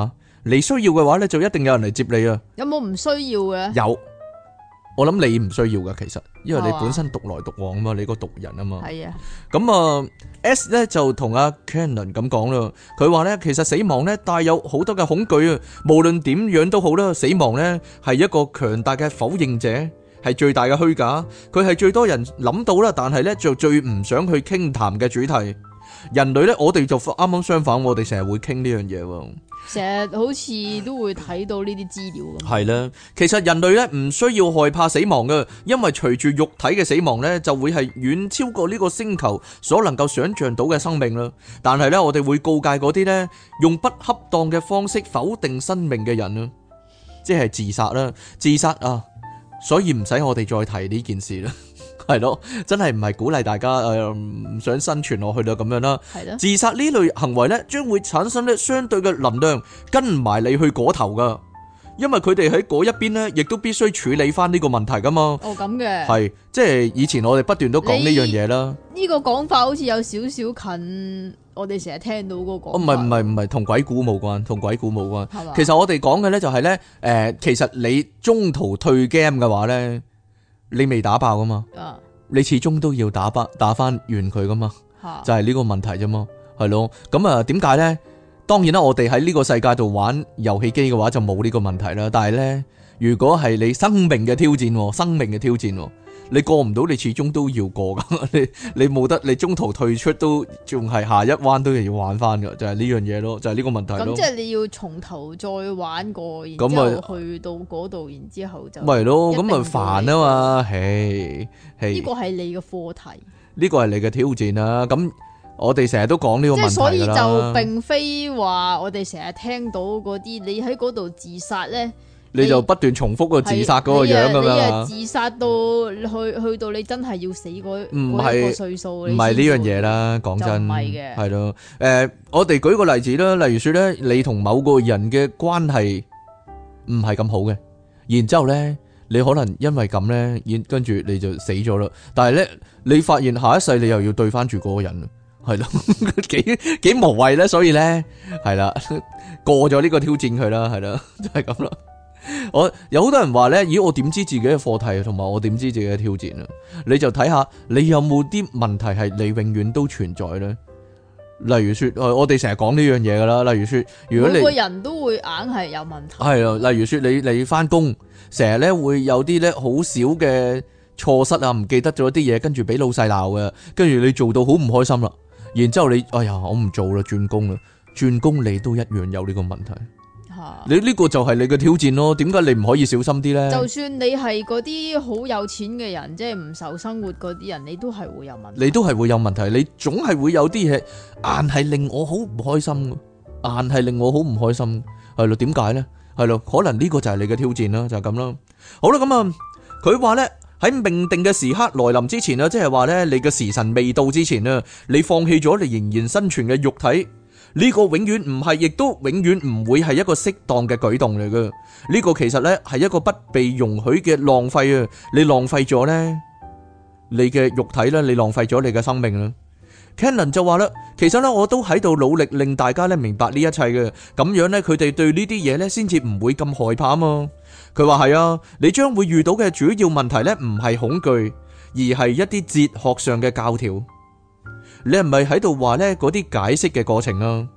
你需要嘅話咧，就一定有人嚟接你啊。 有冇唔需要嘅？ 有，我諗你唔需要噶，其實，因為你係嘛本身獨來獨往啊嘛，你個獨人啊嘛。 係啊， 咁啊 S 咧就同阿 Cannon 咁講啦，佢話咧其實死亡咧帶有好多嘅恐懼啊，無論點樣都好啦，死亡咧係一個強大嘅否認者，係最大嘅虛假，佢係最多人諗到啦，但係咧就最唔想去傾談嘅主題。人類咧，我哋就啱啱相反，我哋成日會傾呢樣嘢喎。 成日好似都會睇到呢啲資料咁。 係啦，其實人類咧唔需要害怕死亡嘅，因為隨住肉體嘅死亡咧，就會係遠超過呢個星球所能夠想象到嘅生命啦。但係咧，我哋會告誡嗰啲咧用不恰當嘅方式否定生命嘅人啊，即係自殺啦，自殺啊，所以唔使我哋再提呢件事啦。係咯，真係唔係鼓勵大家唔想生存落去啦咁樣啦。 係咯， 自殺呢類行為咧，將會產生咧相對嘅能量跟埋你去嗰頭噶，因為佢哋喺嗰一邊咧，亦都必須處理翻呢個問題噶嘛。 哦咁嘅。 係，即係以前我哋不斷都講呢樣嘢啦。 呢個講法好似有少少近我哋成日聽到嗰個講法。 唔係，同鬼故冇關，同鬼故冇關。 係嘛？ 其實我哋講嘅咧就係咧，其實你中途退 game 嘅話咧，你未打爆噶嘛。 啊， 你始終都要打翻完佢噶嘛， 嚇就係呢個問題啫嘛，係咯。咁啊，點解呢？當然啦，我哋喺呢個世界度玩遊戲機嘅話就冇呢個問題啦。但係呢，如果係你生命嘅挑戰，生命嘅挑戰，你過唔到，你始終都要過噶。你冇得，你中途退出都仲係下一彎都要玩翻噶，就係呢樣嘢咯，就係呢個問題咯。 咁即係你要從頭再玩過，然之咁啊後去到嗰度，然之後就咪咯，咁咪一定煩啊嘛，唉， 呢個係你嘅課題。 呢個係你嘅挑戰啦。咁我哋成日都講呢個問題即係所以㗎啦就並非話我哋成日聽到嗰啲，你喺嗰度自殺咧， 你就不斷重複個自殺嗰個樣咁你樣， 自殺到去到你真係要死嗰唔係嗰一個歲數， 唔係呢樣嘢啦。講真， 就唔係嘅係咯。我哋舉個例子啦，例如說咧，你同某個人嘅關係唔係咁好嘅，然之後咧，你可能因為咁咧，跟住你就死咗啦。但係咧，你發現下一世你又要對翻住嗰個人，係咯，幾無謂咧。所以咧，係啦，過咗呢個挑戰佢啦，係啦，就係咁啦。我有好多人話咧，咦，我點知自己嘅課題同埋我點知自己嘅挑戰啊？你就睇下你有冇啲問題係你永遠都存在咧。例如說，我哋成日講呢樣嘢噶啦。例如說，如果你每個人都會硬係有問題。 係啊，例如說你翻工成日咧會有啲咧好少嘅錯失啊，唔記得咗啲嘢，跟住俾老細鬧嘅，跟住你做到好唔開心啦。然之後你哎呀，我唔做啦，轉工啦，轉工你都一樣有呢個問題。你呢個就係你嘅挑戰咯，點解你唔可以小心啲呢？ 就算你係嗰啲好有錢嘅人，即係唔受生活嗰啲人，你都係會有問題。 你都係會有問題，你總係會有啲嘢硬係令我好唔開心，硬係令我好唔開心，係咯？點解呢？係咯？可能呢個就係你嘅挑戰啦，就係咁啦。好啦，咁啊，佢話呢，喺命定嘅時刻來臨之前啊，即係話呢，你嘅時辰未到之前啊，你放棄咗你仍然生存嘅肉體。呢個永遠唔係，亦都永遠唔會係一個適當嘅舉動嚟嘅。呢個其實呢係一個不被容許嘅浪費啊！你浪費咗呢，你嘅肉體呢，你浪費咗你嘅生命啦。Cannon 就話啦，其實呢，我都喺度努力令大家呢明白呢一切嘅，咁樣呢，佢哋對呢啲嘢呢先至唔會咁害怕啊嘛。佢話係啊，你將會遇到嘅主要問題呢，唔係恐懼，而係一啲哲學上嘅教條。你係咪喺度話呢嗰啲解釋嘅過程啊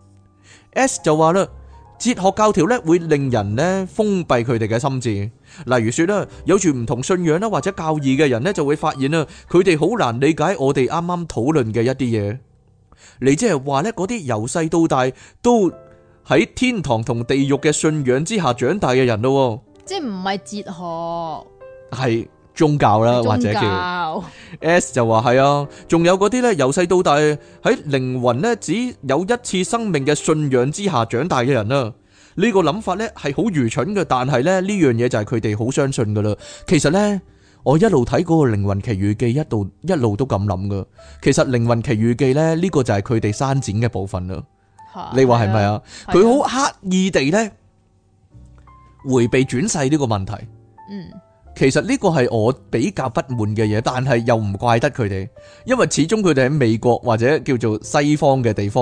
？S 就話啦，哲學教條呢會令人呢封閉佢哋嘅心智。例如說啦，有住唔同信仰啦或者教義嘅人呢，就會發現啊，佢哋好難理解我哋啱啱討論嘅一啲嘢。你即係話呢嗰啲由細到大都喺天堂同地獄嘅信仰之下長大嘅人咯， 即係唔係哲學， 係宗教啦，或者叫 S 就話係啊，仲有嗰啲呢由細到大喺靈魂呢只有一次生命嘅信仰之下長大嘅人啊，呢個諗法呢係好愚蠢嘅，但係呢樣嘢就係佢哋好相信噶啦。其實呢，我一路睇嗰個靈魂奇遇記，一路都咁諗噶。其實靈魂奇遇記呢，呢個就係佢哋刪剪嘅部分啦。你話係咪啊？佢好刻意地呢回避轉世呢個問題。其實呢個係我比較不滿嘅嘢，但係又唔怪得佢哋，因為始終佢哋喺美國或者叫做西方嘅地方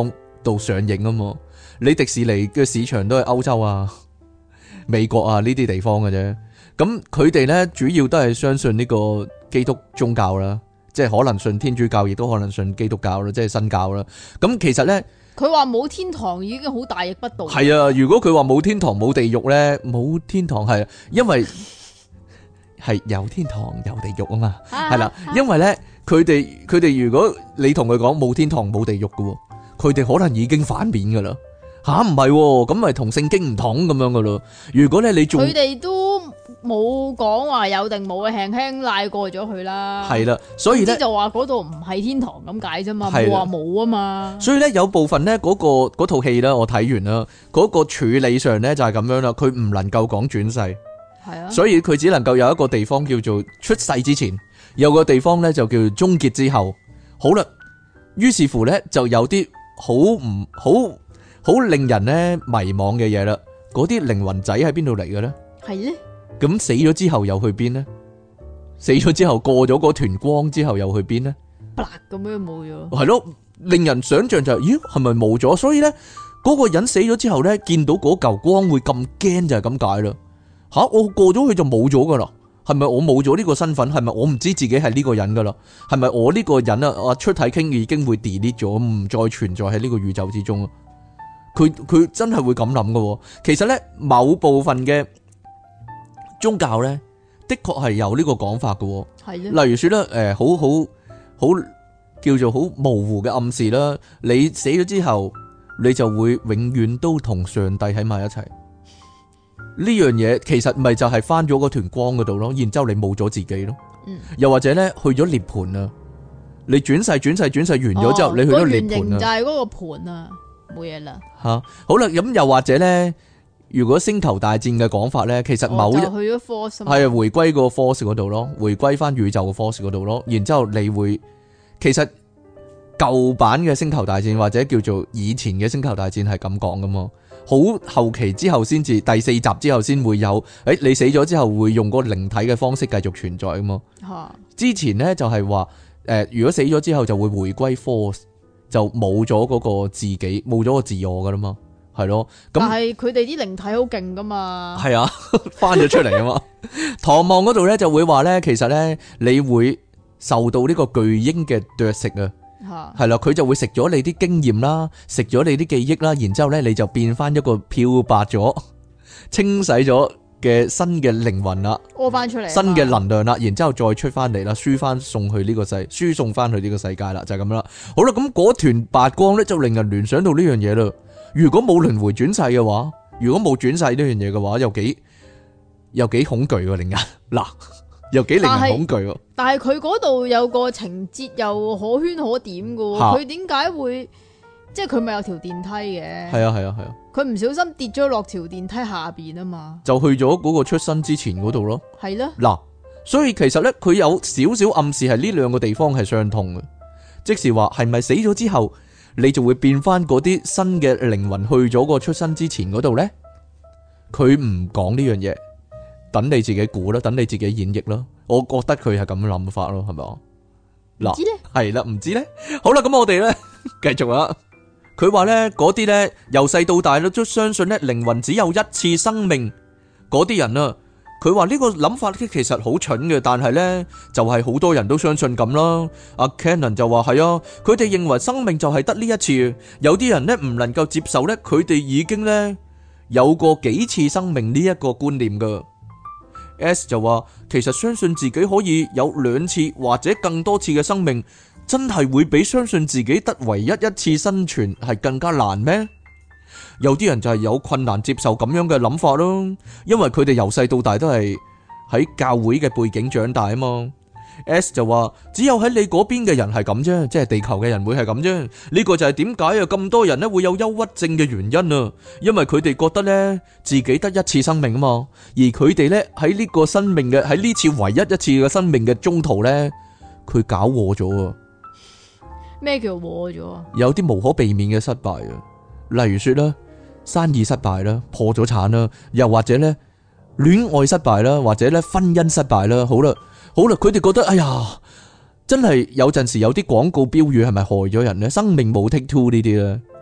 度上映啊嘛。你迪士尼嘅市場都係歐洲啊、美國啊呢啲地方嘅啫。咁佢哋咧主要都係相信呢個基督宗教啦，即係可能信天主教，亦都可能信基督教啦，即係新教啦。咁其實咧， 佢話冇天堂已經好大逆不道。 係啊，如果佢話冇天堂冇地獄咧，冇天堂係因為係有天堂有地獄啊嘛，係啦，因為咧佢哋如果你同佢講冇天堂冇地獄嘅，佢哋可能已經反面噶啦。吓唔係，咁咪同聖經唔同咁樣噶咯。如果咧你仲佢哋都冇講話有定冇，輕輕賴過咗佢啦。 係啦，所以咧就話嗰度唔係天堂咁解啫嘛， 係啦冇話冇啊嘛。 所以咧有部分咧嗰套戲咧，我睇完啦，嗰個處理上咧就係咁樣啦，佢唔能夠講轉世， 係啊， 所以佢只能夠有一個地方叫做出世之前，有個地方咧就叫做終結之後。好啦，於是乎咧就有啲好令人咧迷惘嘅嘢啦。嗰啲靈魂仔喺邊度嚟嘅咧？ 係咧。 咁死咗之後又去邊呢？死咗之後過咗嗰團光之後又去邊呢？ 咁樣冇咗。 係咯，令人想象就係，咦，係咪冇咗？所以咧，嗰個人死咗之後咧，見到嗰嚿光會咁驚就係咁解啦。吓，我過咗去就冇咗噶啦。係咪我冇咗呢個身份？係咪我唔知自己係呢個人噶啦？係咪我呢個人啊出體傾已經會 delete 咗，唔再存在喺呢個宇宙之中啊？佢真係會咁諗噶。其實咧，某部分嘅宗教咧，的確係有呢個講法嘅。 係咧。 例如說咧，好叫做好模糊嘅暗示啦。你死咗之後，你就會永遠都同上帝喺埋一齊。呢樣嘢其實咪就係翻咗嗰團光嗰度咯，然之後你冇咗自己咯。又或者咧去咗涅盤啊，你轉世完咗之後，你去咗涅盤啊。 就係嗰個盤啊，冇嘢啦。 吓，好啦，咁又或者咧，如果星球大戰嘅講法咧，其實某一就去咗 force 係回歸個 force 嗰度咯，回歸翻宇宙嘅 force 嗰度咯，然之後你會其實舊版嘅星球大戰或者叫做以前嘅星球大戰係咁講噶嘛，好後期之後先至第4集之後先會有，你死咗之後會用嗰個靈體嘅方式繼續存在噶嘛。之前咧就係話如果死咗之後就會回歸 force， 就冇咗嗰個自己，冇咗個自我噶啦嘛。係咯，咁但係佢哋啲靈體好勁噶嘛。 係啊，翻咗出嚟啊嘛。唐望嗰度咧就會話咧，其實咧你會受到呢個巨鷹嘅啄食啊，係啦，佢就會食咗你啲經驗啦，食咗你啲記憶啦，然之後咧你就變翻一個漂白咗、清洗咗嘅新嘅靈魂啦， 屙翻出嚟， 新嘅能量啦，然之後再出翻嚟啦，輸翻送去呢個輸送翻去呢個世界啦，就係咁啦。好啦，咁嗰團白光咧就令人聯想到呢樣嘢啦。如果冇輪迴轉世嘅話，如果冇轉世呢樣嘢嘅話，又幾恐懼喎，令人嗱又幾令人恐懼喎。 但係佢嗰度有個情節又可圈可點噶，佢點解會即係佢咪有條電梯嘅？係啊， 佢唔小心跌咗落條電梯下邊啊嘛， 就去咗嗰個出生之前嗰度咯。 係咯， 嗱，所以其實咧佢有少少暗示係呢兩個地方係相通嘅，即是話係咪死咗之後？你就會變翻嗰啲新嘅靈魂去咗個出生之前嗰度呢？佢唔講呢樣嘢，等你自己估啦，等你自己演繹啦。我覺得佢係咁樣諗法咯，係咪啊？嗱，係啦，唔知呢。好啦，咁我哋呢，繼續啦。佢話呢，嗰啲呢，由細到大都相信呢靈魂只有一次生命嗰啲人啊。佢話呢個諗法其實好蠢嘅，但係呢就係好多人都相信咁啦。阿 Cannon 就話係啊，佢哋認為生命就係得呢一次，有啲人呢唔能夠接受呢，佢哋已經呢有過幾次生命呢一個觀念噶。S 就話其實相信自己可以有2次或者更多次嘅生命，真係會比相信自己得唯一一次生存係更加難咩？有啲人就係有困難接受咁樣嘅諗法咯，因為佢哋由細到大都係喺教會嘅背景長大啊嘛。S 就話只有喺你嗰邊嘅人係咁啫，即係地球嘅人會係咁啫。呢個就係點解啊咁多人咧會有憂鬱症嘅原因啊，因為佢哋覺得咧自己得一次生命啊嘛，而佢哋咧喺呢個生命嘅喺呢次唯一一次嘅生命嘅中途咧，佢搞禍咗啊。 咩叫禍咗啊？ 有啲無可避免嘅失敗啊，例如說啦，生意失敗啦，破咗產啦，又或者咧戀愛失敗啦，或者咧婚姻失敗啦。好啦，佢哋覺得哎呀，真係有陣時有啲廣告標語係咪害咗人咧？生命冇 take two 呢啲咧，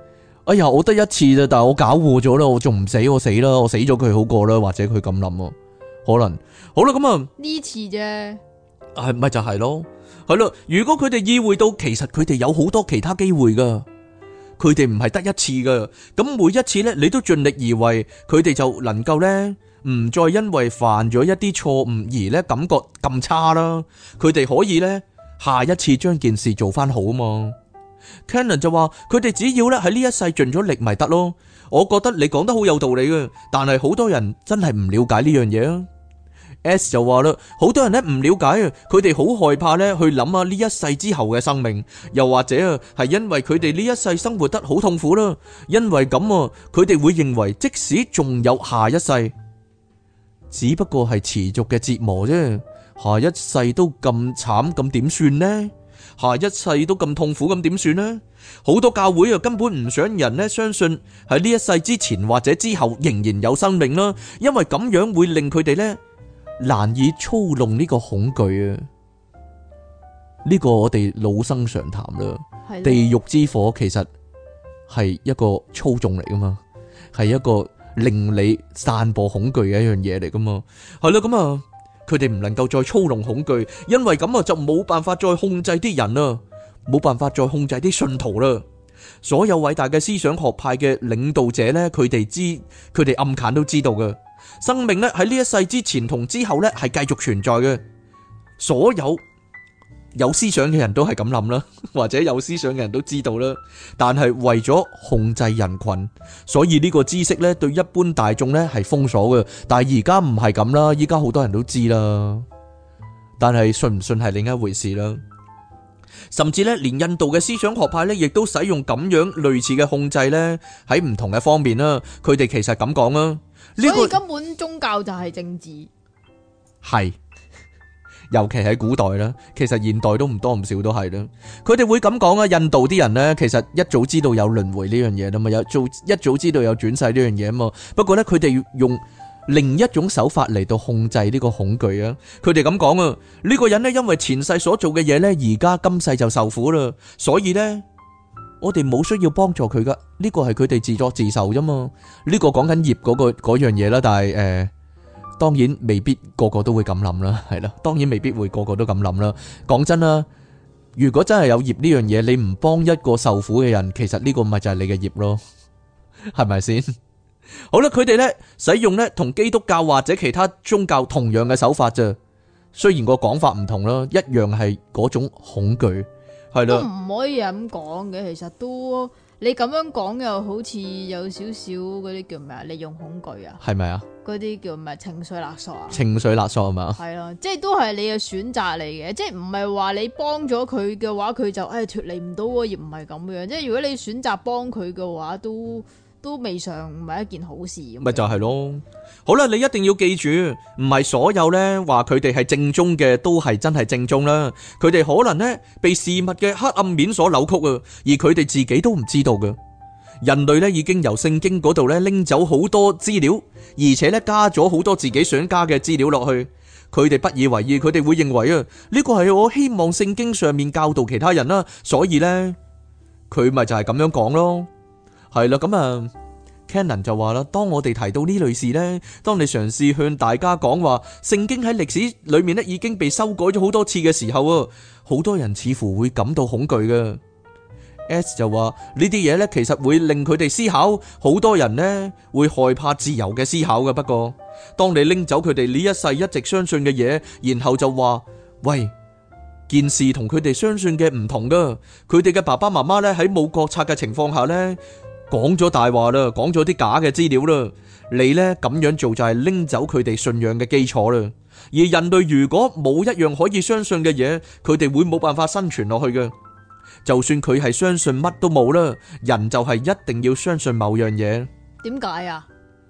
哎呀，我得一次咋，但係我搞錯咗啦，我仲唔死，我死啦，我死咗佢好過啦，或者佢咁諗啊，可能好啦，咁啊呢次啫， 係咪就係咯？係咯，如果佢哋意會到其實佢哋有好多其他機會噶，佢哋唔係得一次噶，咁每一次呢，你都盡力而為，佢哋就能夠呢，唔再因為犯咗一啲錯誤而呢感覺咁差啦，佢哋可以呢，下一次將件事做翻好啊嘛。Cannon 就話佢哋只要咧喺呢一世盡咗力咪得咯，我覺得你講得好有道理嘅，但係好多人真係唔了解呢樣嘢啊。S 就話啦，好多人咧唔了解啊，佢哋好害怕咧去諗啊呢一世之後嘅生命，又或者啊係因為佢哋呢一世生活得好痛苦啦，因為咁啊佢哋會認為即使仲有下一世，只不過係持續嘅折磨啫，下一世都咁慘，咁點算呢？下一世都咁痛苦，咁點算呢？好多教會啊，根本唔想人呢相信喺呢一世之前或者之後仍然有生命啦，因為咁樣會令佢哋呢難以操弄呢個恐懼啊。呢個我哋老生常談啦。地獄之火其實係一個操縱嚟噶嘛，係一個令你散播恐懼嘅一樣嘢嚟噶嘛。係啦，咁啊。佢哋唔能夠再操弄恐懼，因為咁啊就冇辦法再控制啲人啦，冇辦法再控制啲信徒啦。所有偉大嘅思想學派嘅領導者呢，佢哋暗間都知道嘅，生命呢喺呢一世之前同之後呢係繼續存在嘅。所有思想嘅人都係咁諗啦，或者有思想嘅人都知道啦。但係為咗控制人群，所以呢個知識呢對一般大眾呢係封鎖嘅。但係而家唔係咁啦，依家好多人都知啦。但係信唔信係另一回事啦。甚至呢，連印度嘅思想學派呢，亦都使用咁樣類似嘅控制呢，喺唔同嘅方面啦。佢哋其實咁講啦， 所以根本宗教就係政治， 係。尤其喺古代啦，其實現代都唔多唔少都係啦。佢哋會咁講啊，印度啲人呢，其實一早知道有輪迴呢樣嘢啦嘛，一早知道有轉世呢樣嘢啊嘛。不過呢，佢哋用另一種手法嚟到控制呢個恐懼啊。佢哋咁講啊，呢個人呢，因為前世所做嘅嘢呢，而家今世就受苦啦，所以呢，我哋冇需要幫助佢噶。呢個係佢哋自作自受啫嘛。呢個講緊業嗰樣嘢啦，但係當然未必個個都會咁諗啦，係啦，當然未必會個個都咁諗啦。講真啦，如果真係有業呢樣嘢，你唔幫一個受苦嘅人，其實呢個咪就係你嘅業咯，係咪先？好啦，佢哋呢使用呢同基督教或者其他宗教同樣嘅手法啫，雖然個講法唔同啦，一樣係嗰種恐懼，係啦。 都唔可以咁講嘅，其實都你咁樣講又好似有少少嗰啲叫咩啊？利用恐懼啊？係咪啊？ 嗰啲叫咩情緒勒索啊？ 情緒勒索係嘛？ 係咯，即係都係你嘅選擇嚟嘅，即係唔係話你幫咗佢嘅話，佢就脫離唔到，而唔係咁樣。即係如果你選擇幫佢嘅話，都未嘗唔係一件好事。 咪就係咯。好啦，你一定要記住，唔係所有呢話佢哋係正宗嘅都係真係正宗啦。佢哋可能呢被事物嘅黑暗面所扭曲啊，而佢哋自己都唔知道嘅。人類咧已經由聖經嗰度咧拎走好多資料，而且咧加咗好多自己想加嘅資料落去。佢哋不以為意，佢哋會認為啊，呢個係我希望聖經上面教導其他人啦，所以呢，佢咪就係咁樣講咯。係啦，咁啊 Cannon 就話啦，當我哋提到呢類事呢，當你嘗試向大家講話聖經喺歷史裏面咧已經被修改咗好多次嘅時候啊，好多人似乎會感到恐懼嘅。S 就話呢啲嘢呢，其實會令佢哋思考，好多人呢會害怕自由嘅思考嘅。不過，當你拎走佢哋呢一世一直相信嘅嘢，然後就話喂，件事同佢哋相信嘅唔同噶，佢哋嘅爸爸媽媽呢喺冇覺察嘅情況下呢講咗大話啦，講咗啲假嘅資料啦，你呢咁樣做就係拎走佢哋信仰嘅基礎啦。而人類如果冇一樣可以相信嘅嘢，佢哋會冇辦法生存落去嘅。就算佢係相信乜都冇啦，人就係一定要相信某樣嘢。 點解啊？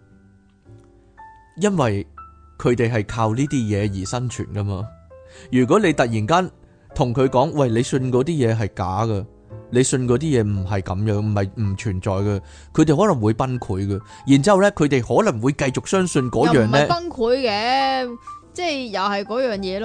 因為佢哋係靠呢啲嘢而生存噶嘛。如果你突然間同佢講，喂，你信嗰啲嘢係假噶，你信嗰啲嘢唔係咁樣，唔係唔存在嘅，佢哋可能會崩潰嘅。然之後咧，佢哋可能會繼續相信嗰樣咧。又唔係崩潰嘅，即係又係嗰樣嘢咯。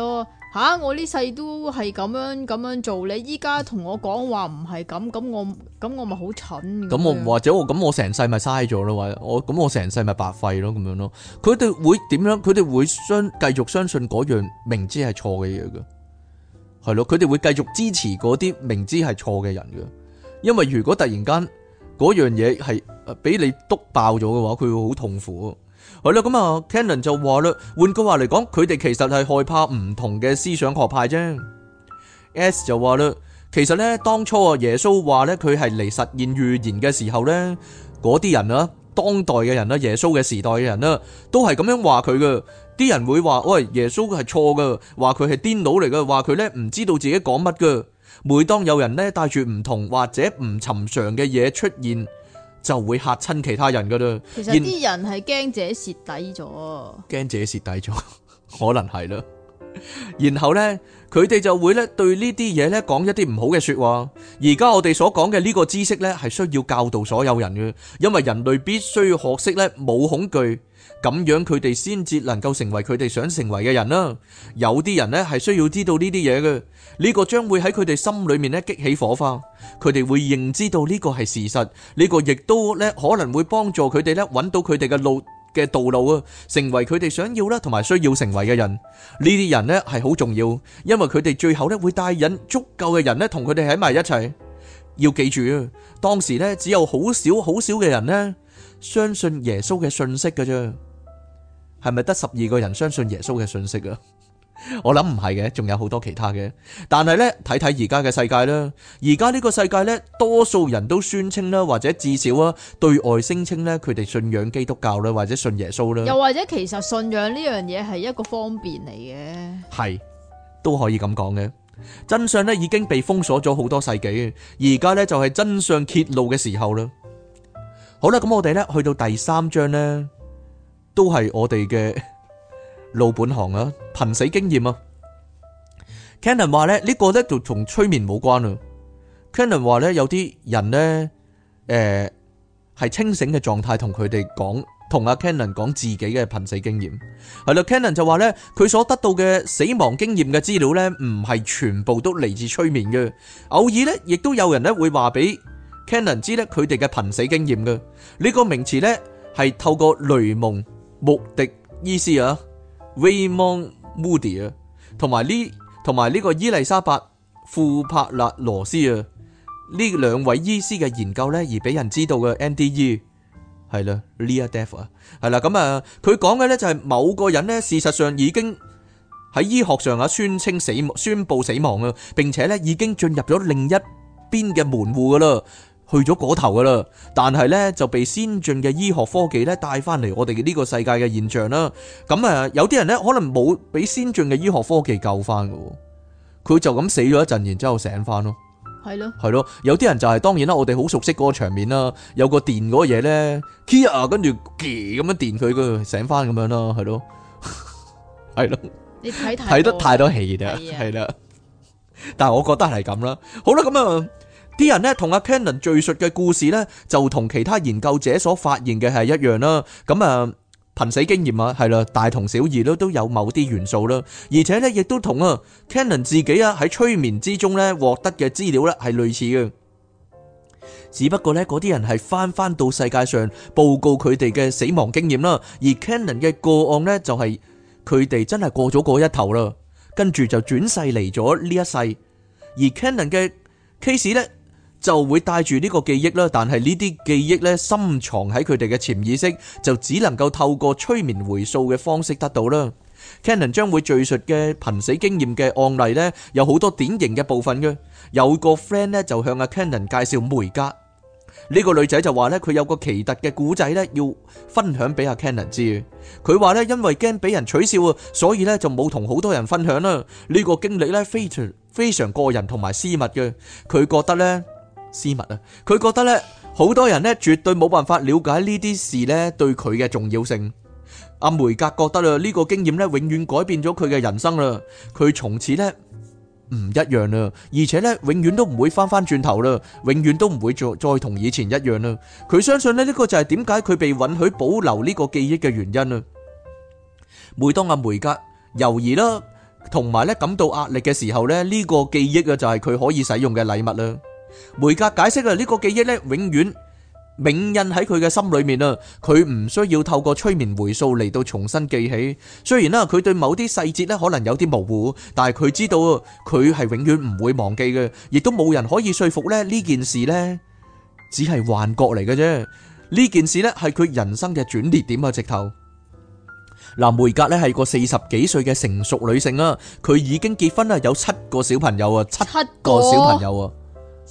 吓，我呢世都係咁樣做，你依家同我講話唔係咁，咁我咪好蠢。 咁我或者我成世咪嘥咗咯，或者我成世咪白費咯，咁樣咯。佢哋會點樣？佢哋會繼續相信嗰樣明知係錯嘅嘢嘅，係咯。佢哋會繼續支持嗰啲明知係錯嘅人嘅，因為如果突然間嗰樣嘢係俾你篤爆咗嘅話，佢會好痛苦。係啦，咁啊 Cannon 就話啦，換句話嚟講，佢哋其實係害怕唔同嘅思想學派啫。S 就話啦，其實咧當初啊耶穌話咧佢係嚟實現預言嘅時候咧，嗰啲人啊，當代嘅人啦，耶穌嘅時代嘅人啦，都係咁樣話佢嘅。啲人會話喂，耶穌係錯噶，話佢係癲佬嚟噶，話佢咧唔知道自己講乜噶。每當有人咧帶住唔同或者唔尋常嘅嘢出現，就會嚇親其他人噶啦。 其實啲人係驚自己蝕底咗， 驚自己蝕底咗，可能係啦。然後呢，佢哋就會咧對呢啲嘢咧講一啲唔好嘅說話。而家我哋所講嘅呢個知識咧，係需要教導所有人嘅，因為人類必須要學識咧冇恐懼，咁樣佢哋先至能夠成為佢哋想成為嘅人啦。有啲人咧係需要知道呢啲嘢嘅，呢個將會喺佢哋心裏面咧激起火花，佢哋會認知到呢個係事實，呢個亦都咧可能會幫助佢哋咧揾到佢哋嘅道路啊，成為佢哋想要啦同埋需要成為嘅人。呢啲人咧係好重要，因為佢哋最後咧會帶引足夠嘅人咧同佢哋喺埋一齊。要記住啊，當時咧只有好少嘅人咧相信耶穌嘅信息㗎啫。係咪得12個人相信耶穌嘅信息啊？我諗唔係嘅，仲有好多其他嘅。但係呢，睇睇而家嘅世界啦，而家呢個世界呢，多數人都宣稱啦，或者至少啊，對外聲稱呢，佢哋信仰基督教啦，或者信耶穌啦。 又或者其實信仰呢樣嘢係一個方便嚟嘅， 係都可以咁講嘅。真相呢已經被封鎖咗好多世紀，而家呢就係真相揭露嘅時候啦。好啦，咁我哋呢去到第3章呢，都係我哋嘅老本行啊，瀕死經驗啊。Cannon 話咧呢個咧就同催眠冇關啊。Cannon 話咧有啲人咧係清醒嘅狀態同佢哋講，同阿 Cannon 講自己嘅瀕死經驗。係啦，Cannon 就話咧佢所得到嘅死亡經驗嘅資料咧唔係全部都嚟自催眠嘅，偶爾咧亦都有人咧會話俾 Cannon 知咧佢哋嘅瀕死經驗嘅。呢個名詞咧係透過雷蒙穆迪醫師啊 Raymond Moody 啊，同埋呢個伊麗莎白庫柏勒羅斯啊，呢兩位醫師嘅研究咧而俾人知道嘅 NDE 係啦 Near Death 啊，係啦，咁啊佢講嘅咧就係某個人咧事實上已經喺醫學上啊宣布死亡啊，並且咧已經進入咗另一邊嘅門戶噶啦，去咗嗰頭噶啦，但係咧就被先進嘅醫學科技咧帶翻嚟我哋嘅呢個世界嘅現象啦。咁啊，有啲人咧可能冇俾先進嘅醫學科技救翻嘅，佢就咁死咗一陣，然之後醒翻咯。係咯，有啲人就係當然啦，我哋好熟悉嗰個場面啦，有個電嗰個嘢咧 ，Kia 跟住咁樣電佢，佢醒翻咁樣啦，係咯，係咯。你睇得太多戲啦，係啦。但係我覺得係咁啦。好啦，咁啊。啲人咧同阿 Cannon 敘述嘅故事咧，就同其他研究者所發現嘅係一樣啦。咁啊，瀕死經驗啊，係啦，大同小異都有某啲元素啦。而且咧，亦都同啊 Cannon 自己啊喺催眠之中咧獲得嘅資料咧係類似嘅。只不過咧，嗰啲人係翻到世界上報告佢哋嘅死亡經驗啦，而 Cannon 嘅個案咧就係佢哋真係過咗嗰一頭啦，跟住就轉世嚟咗呢一世。而 Cannon 嘅 case 咧，就會帶住呢個記憶啦，但係呢啲記憶咧深藏喺佢哋嘅潛意識，就只能夠透過催眠回溯嘅方式得到啦。Cannon 將會敘述嘅瀕死經驗嘅案例咧，有好多典型嘅部分嘅。有個 friend 咧就向阿 Cannon 介紹梅格，呢個女仔就話咧佢有個奇特嘅古仔咧要分享俾阿 Cannon 知。佢話咧因為驚俾人取笑啊，所以咧就冇同好多人分享啦。呢個經歷咧非常個人同埋私密嘅，佢覺得咧。私密啊！佢覺得咧，好多人咧絕對冇辦法了解呢啲事咧對佢嘅重要性。阿梅格覺得啦，呢個經驗咧永遠改變咗佢嘅人生啦。佢從此咧唔一樣啦，而且咧永遠都唔會翻轉頭啦，永遠都唔會再同以前一樣啦。佢相信咧呢個就係點解佢被允許保留呢個記憶嘅原因啦。每當阿梅格猶豫啦， 同埋咧感到壓力嘅時候咧，呢個記憶啊就係佢可以使用嘅禮物啦。梅格解釋啊，呢個記憶咧永遠銘印喺佢嘅心裏面啊，佢唔需要透過催眠回溯嚟到重新記起。雖然啦，佢對某啲細節咧可能有啲模糊，但係佢知道佢係永遠唔會忘記嘅，亦都冇人可以說服咧呢件事呢只係幻覺嚟嘅啫。呢件事呢係佢人生嘅轉捩點啊！直頭嗱，梅格呢係個40幾歲嘅成熟女性啊，佢已經結婚啦，有7個小朋友啊，7個小朋友啊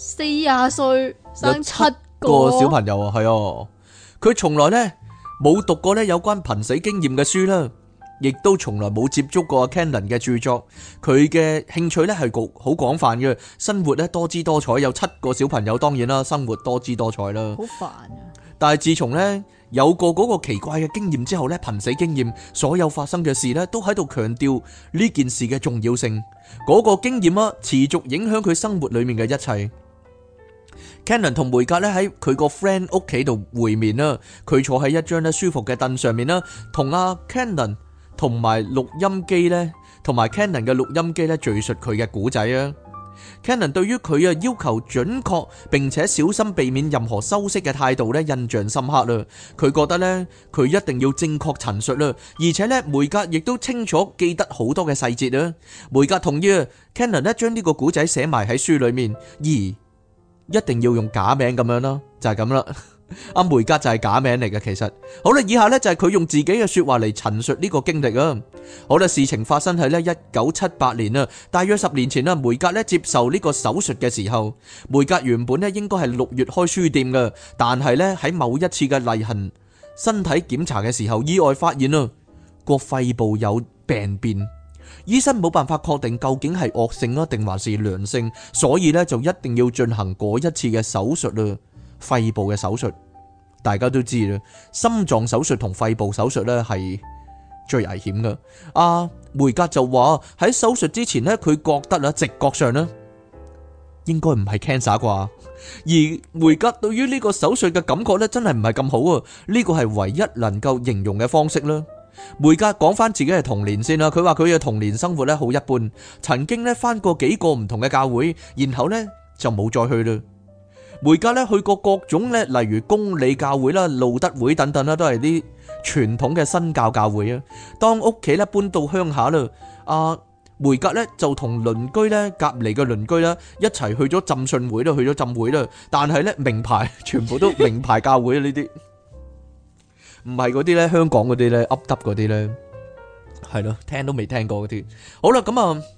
，40歲生7 個小朋友啊，係啊，佢從來呢冇讀過呢有關瀕死經驗嘅書啦，亦都從來冇接觸過 Cannon 嘅著作。佢嘅興趣呢係好廣泛嘅，生活呢多姿多彩，有7個小朋友，當然啦，生活多姿多彩啦。 好煩啊！ 但係自從呢有過嗰個奇怪嘅經驗之後呢，瀕死經驗，所有發生嘅事呢都喺度強調呢件事嘅重要性。嗰個經驗啊，持續影響佢生活裏面嘅一切。Cannon 同梅格咧喺佢個 friend 屋企度會面啦，佢坐喺一張咧舒服嘅凳上面啦，同阿 Cannon 同埋錄音機咧，同埋 Cannon 嘅錄音機咧敘述佢嘅故仔啊。Cannon 對於佢啊要求準確並且小心避免任何修飾嘅態度咧印象深刻啦。佢覺得咧佢一定要正確陳述啦，而且咧梅格亦都清楚記得好多嘅細節啊。梅格同意啊 Cannon 咧將呢個故仔寫埋喺書裏面，而一定要用假名咁樣啦，就係咁啦。阿梅格就係假名嚟嘅，其實好啦，以下呢就係佢用自己嘅說話嚟陳述呢個經歷啊。好啦，事情發生喺呢1978年啊，大約10年前啦。梅格呢接受呢個手術嘅時候，梅格原本呢應該係6月開書店嘅，但係呢喺某一次嘅例行身體檢查嘅時候，意外發現啊個肺部有病變。醫生冇辦法確定究竟係惡性啊定還是良性，所以咧就一定要進行嗰一次嘅手術啦，肺部嘅手術。大家都知啦，心臟手術同肺部手術咧係最危險噶。阿梅格就話喺手術之前咧，佢覺得啦，直覺上咧應該唔係 cancer 啩，而梅格對於呢個手術嘅感覺咧真係唔係咁好啊，呢個係唯一能夠形容嘅方式啦。梅格講翻自己嘅童年先啦，佢話佢嘅童年生活咧好一般，曾經咧翻過幾個唔同嘅教會，然後咧就冇再去啦。梅格咧去過各種咧，例如公理教會啦、路德會等等啦，都係啲傳統嘅新教教會啊。當屋企咧搬到鄉下啦，阿梅格咧就同鄰居咧隔籬嘅鄰居啦一齊去咗浸信會啦，去咗浸會啦，但係咧名牌全部都名牌教會啊，呢啲。唔係嗰啲咧，香港嗰啲咧，噏耷嗰啲咧，係咯，聽都未聽過嗰啲。好啦，咁啊，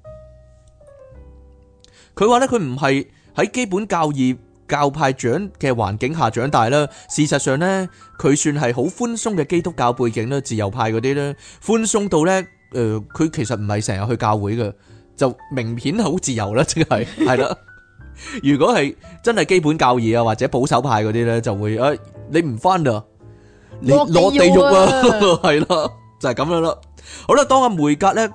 佢話咧，佢唔係喺基本教義教派長嘅環境下長大啦。事實上咧，佢算係好寬鬆嘅基督教背景啦，自由派嗰啲咧，寬鬆到咧，佢其實唔係成日去教會嘅，就明顯好自由啦，即係係啦。如果係真係基本教義啊，或者保守派嗰啲咧，就會你唔翻啦。你落地獄啊，係啦，就係咁樣啦。好啦，當阿梅格咧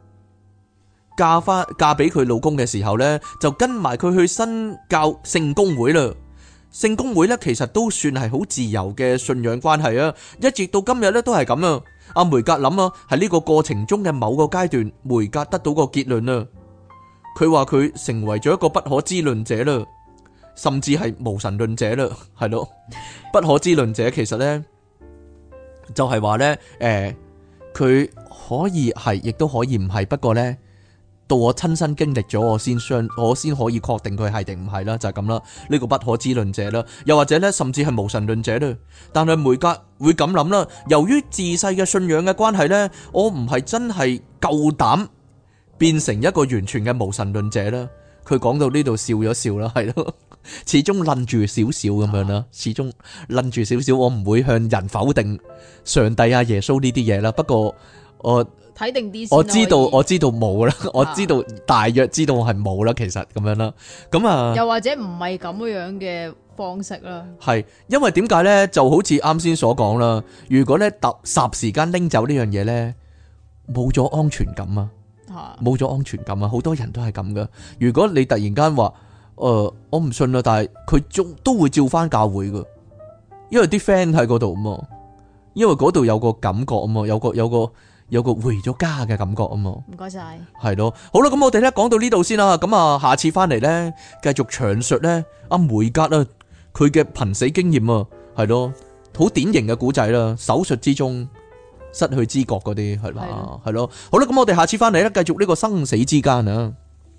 嫁俾佢老公嘅時候咧，就跟埋佢去新教聖公會啦。聖公會咧其實都算係好自由嘅信仰關係啊，一直到今日咧都係咁啊。阿梅格諗啊，喺呢個過程中嘅某個階段，梅格得到個結論啊。佢話佢成為咗一個不可知論者啦，甚至係無神論者啦，係咯。不可知論者其實咧。就係話呢，佢可以係，亦都可以唔係。不過呢，到我親身經歷咗，我先可以確定佢係定唔係啦，就係咁啦。呢個不可知論者啦，又或者呢，甚至係無神論者啦。但係梅格會咁諗啦，由於自細嘅信仰嘅關係呢，我唔係真係夠膽變成一個完全嘅無神論者啦。佢講到呢度笑咗笑啦，係咯。始終愣住少少咁樣啦，始終愣住少少，我唔會向人否定上帝啊、耶穌呢啲嘢啦。不過我睇定啲先，我知道冇啦，我知道大約知道我係冇啦，其實咁樣啦。咁啊，又或者唔係咁樣嘅方式啦。係因為點解呢？就好似啱先所講啦，如果呢霎時間拎走呢樣嘢呢，冇咗安全感啊，冇咗安全感啊，好多人都係咁噶。如果你突然間話，我唔信啦，但係佢都會照翻教會噶，因為啲 friend 喺嗰度啊嘛，因為嗰度有個感覺啊嘛，有有個回咗家嘅感覺啊嘛。 唔該晒。 係咯，好啦，咁我哋咧講到呢度先啦。咁啊，下次翻嚟咧，繼續詳述咧阿梅格啊，佢嘅瀕死經驗啊，係咯，好典型嘅古仔啦，手術之中失去知覺嗰啲係嘛，係咯。好啦，咁我哋下次翻嚟咧，繼續呢個生死之間啊。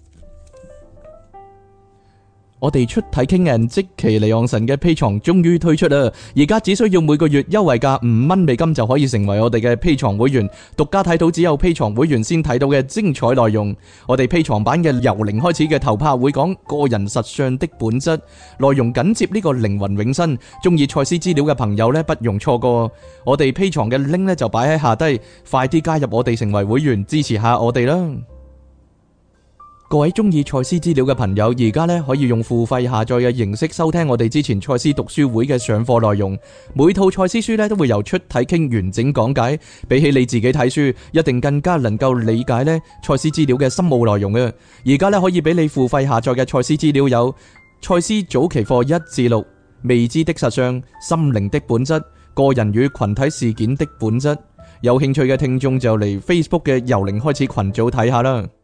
我哋出體傾人即其離岸神嘅 Patreon 終於推出啦！而家只需要每個月優惠價5蚊美金就可以成為我哋嘅 Patreon 會員，獨家睇到只有 Patreon 會員先睇到嘅精彩內容。我哋 Patreon 版嘅由零開始嘅頭拍會講個人實相的本質，內容緊接呢個靈魂永生。中意賽斯資料嘅朋友呢，不容錯過。我哋 Patreon 嘅 link 呢就擺喺下低，快啲加入我哋成為會員，支持下我哋啦！各位中意賽斯資料嘅朋友，而家咧可以用付費下載嘅形式收聽我哋之前賽斯讀書會嘅上課內容。每套賽斯書咧都會由出體傾完整講解，比起你自己睇書，一定更加能夠理解咧賽斯資料嘅深奧內容啊！而家咧可以俾你付費下載嘅賽斯資料有賽斯早期課1至6、未知的實相、心靈的本質、個人與群體事件的本質。有興趣嘅聽眾就嚟 Facebook 嘅由零開始群組睇下啦。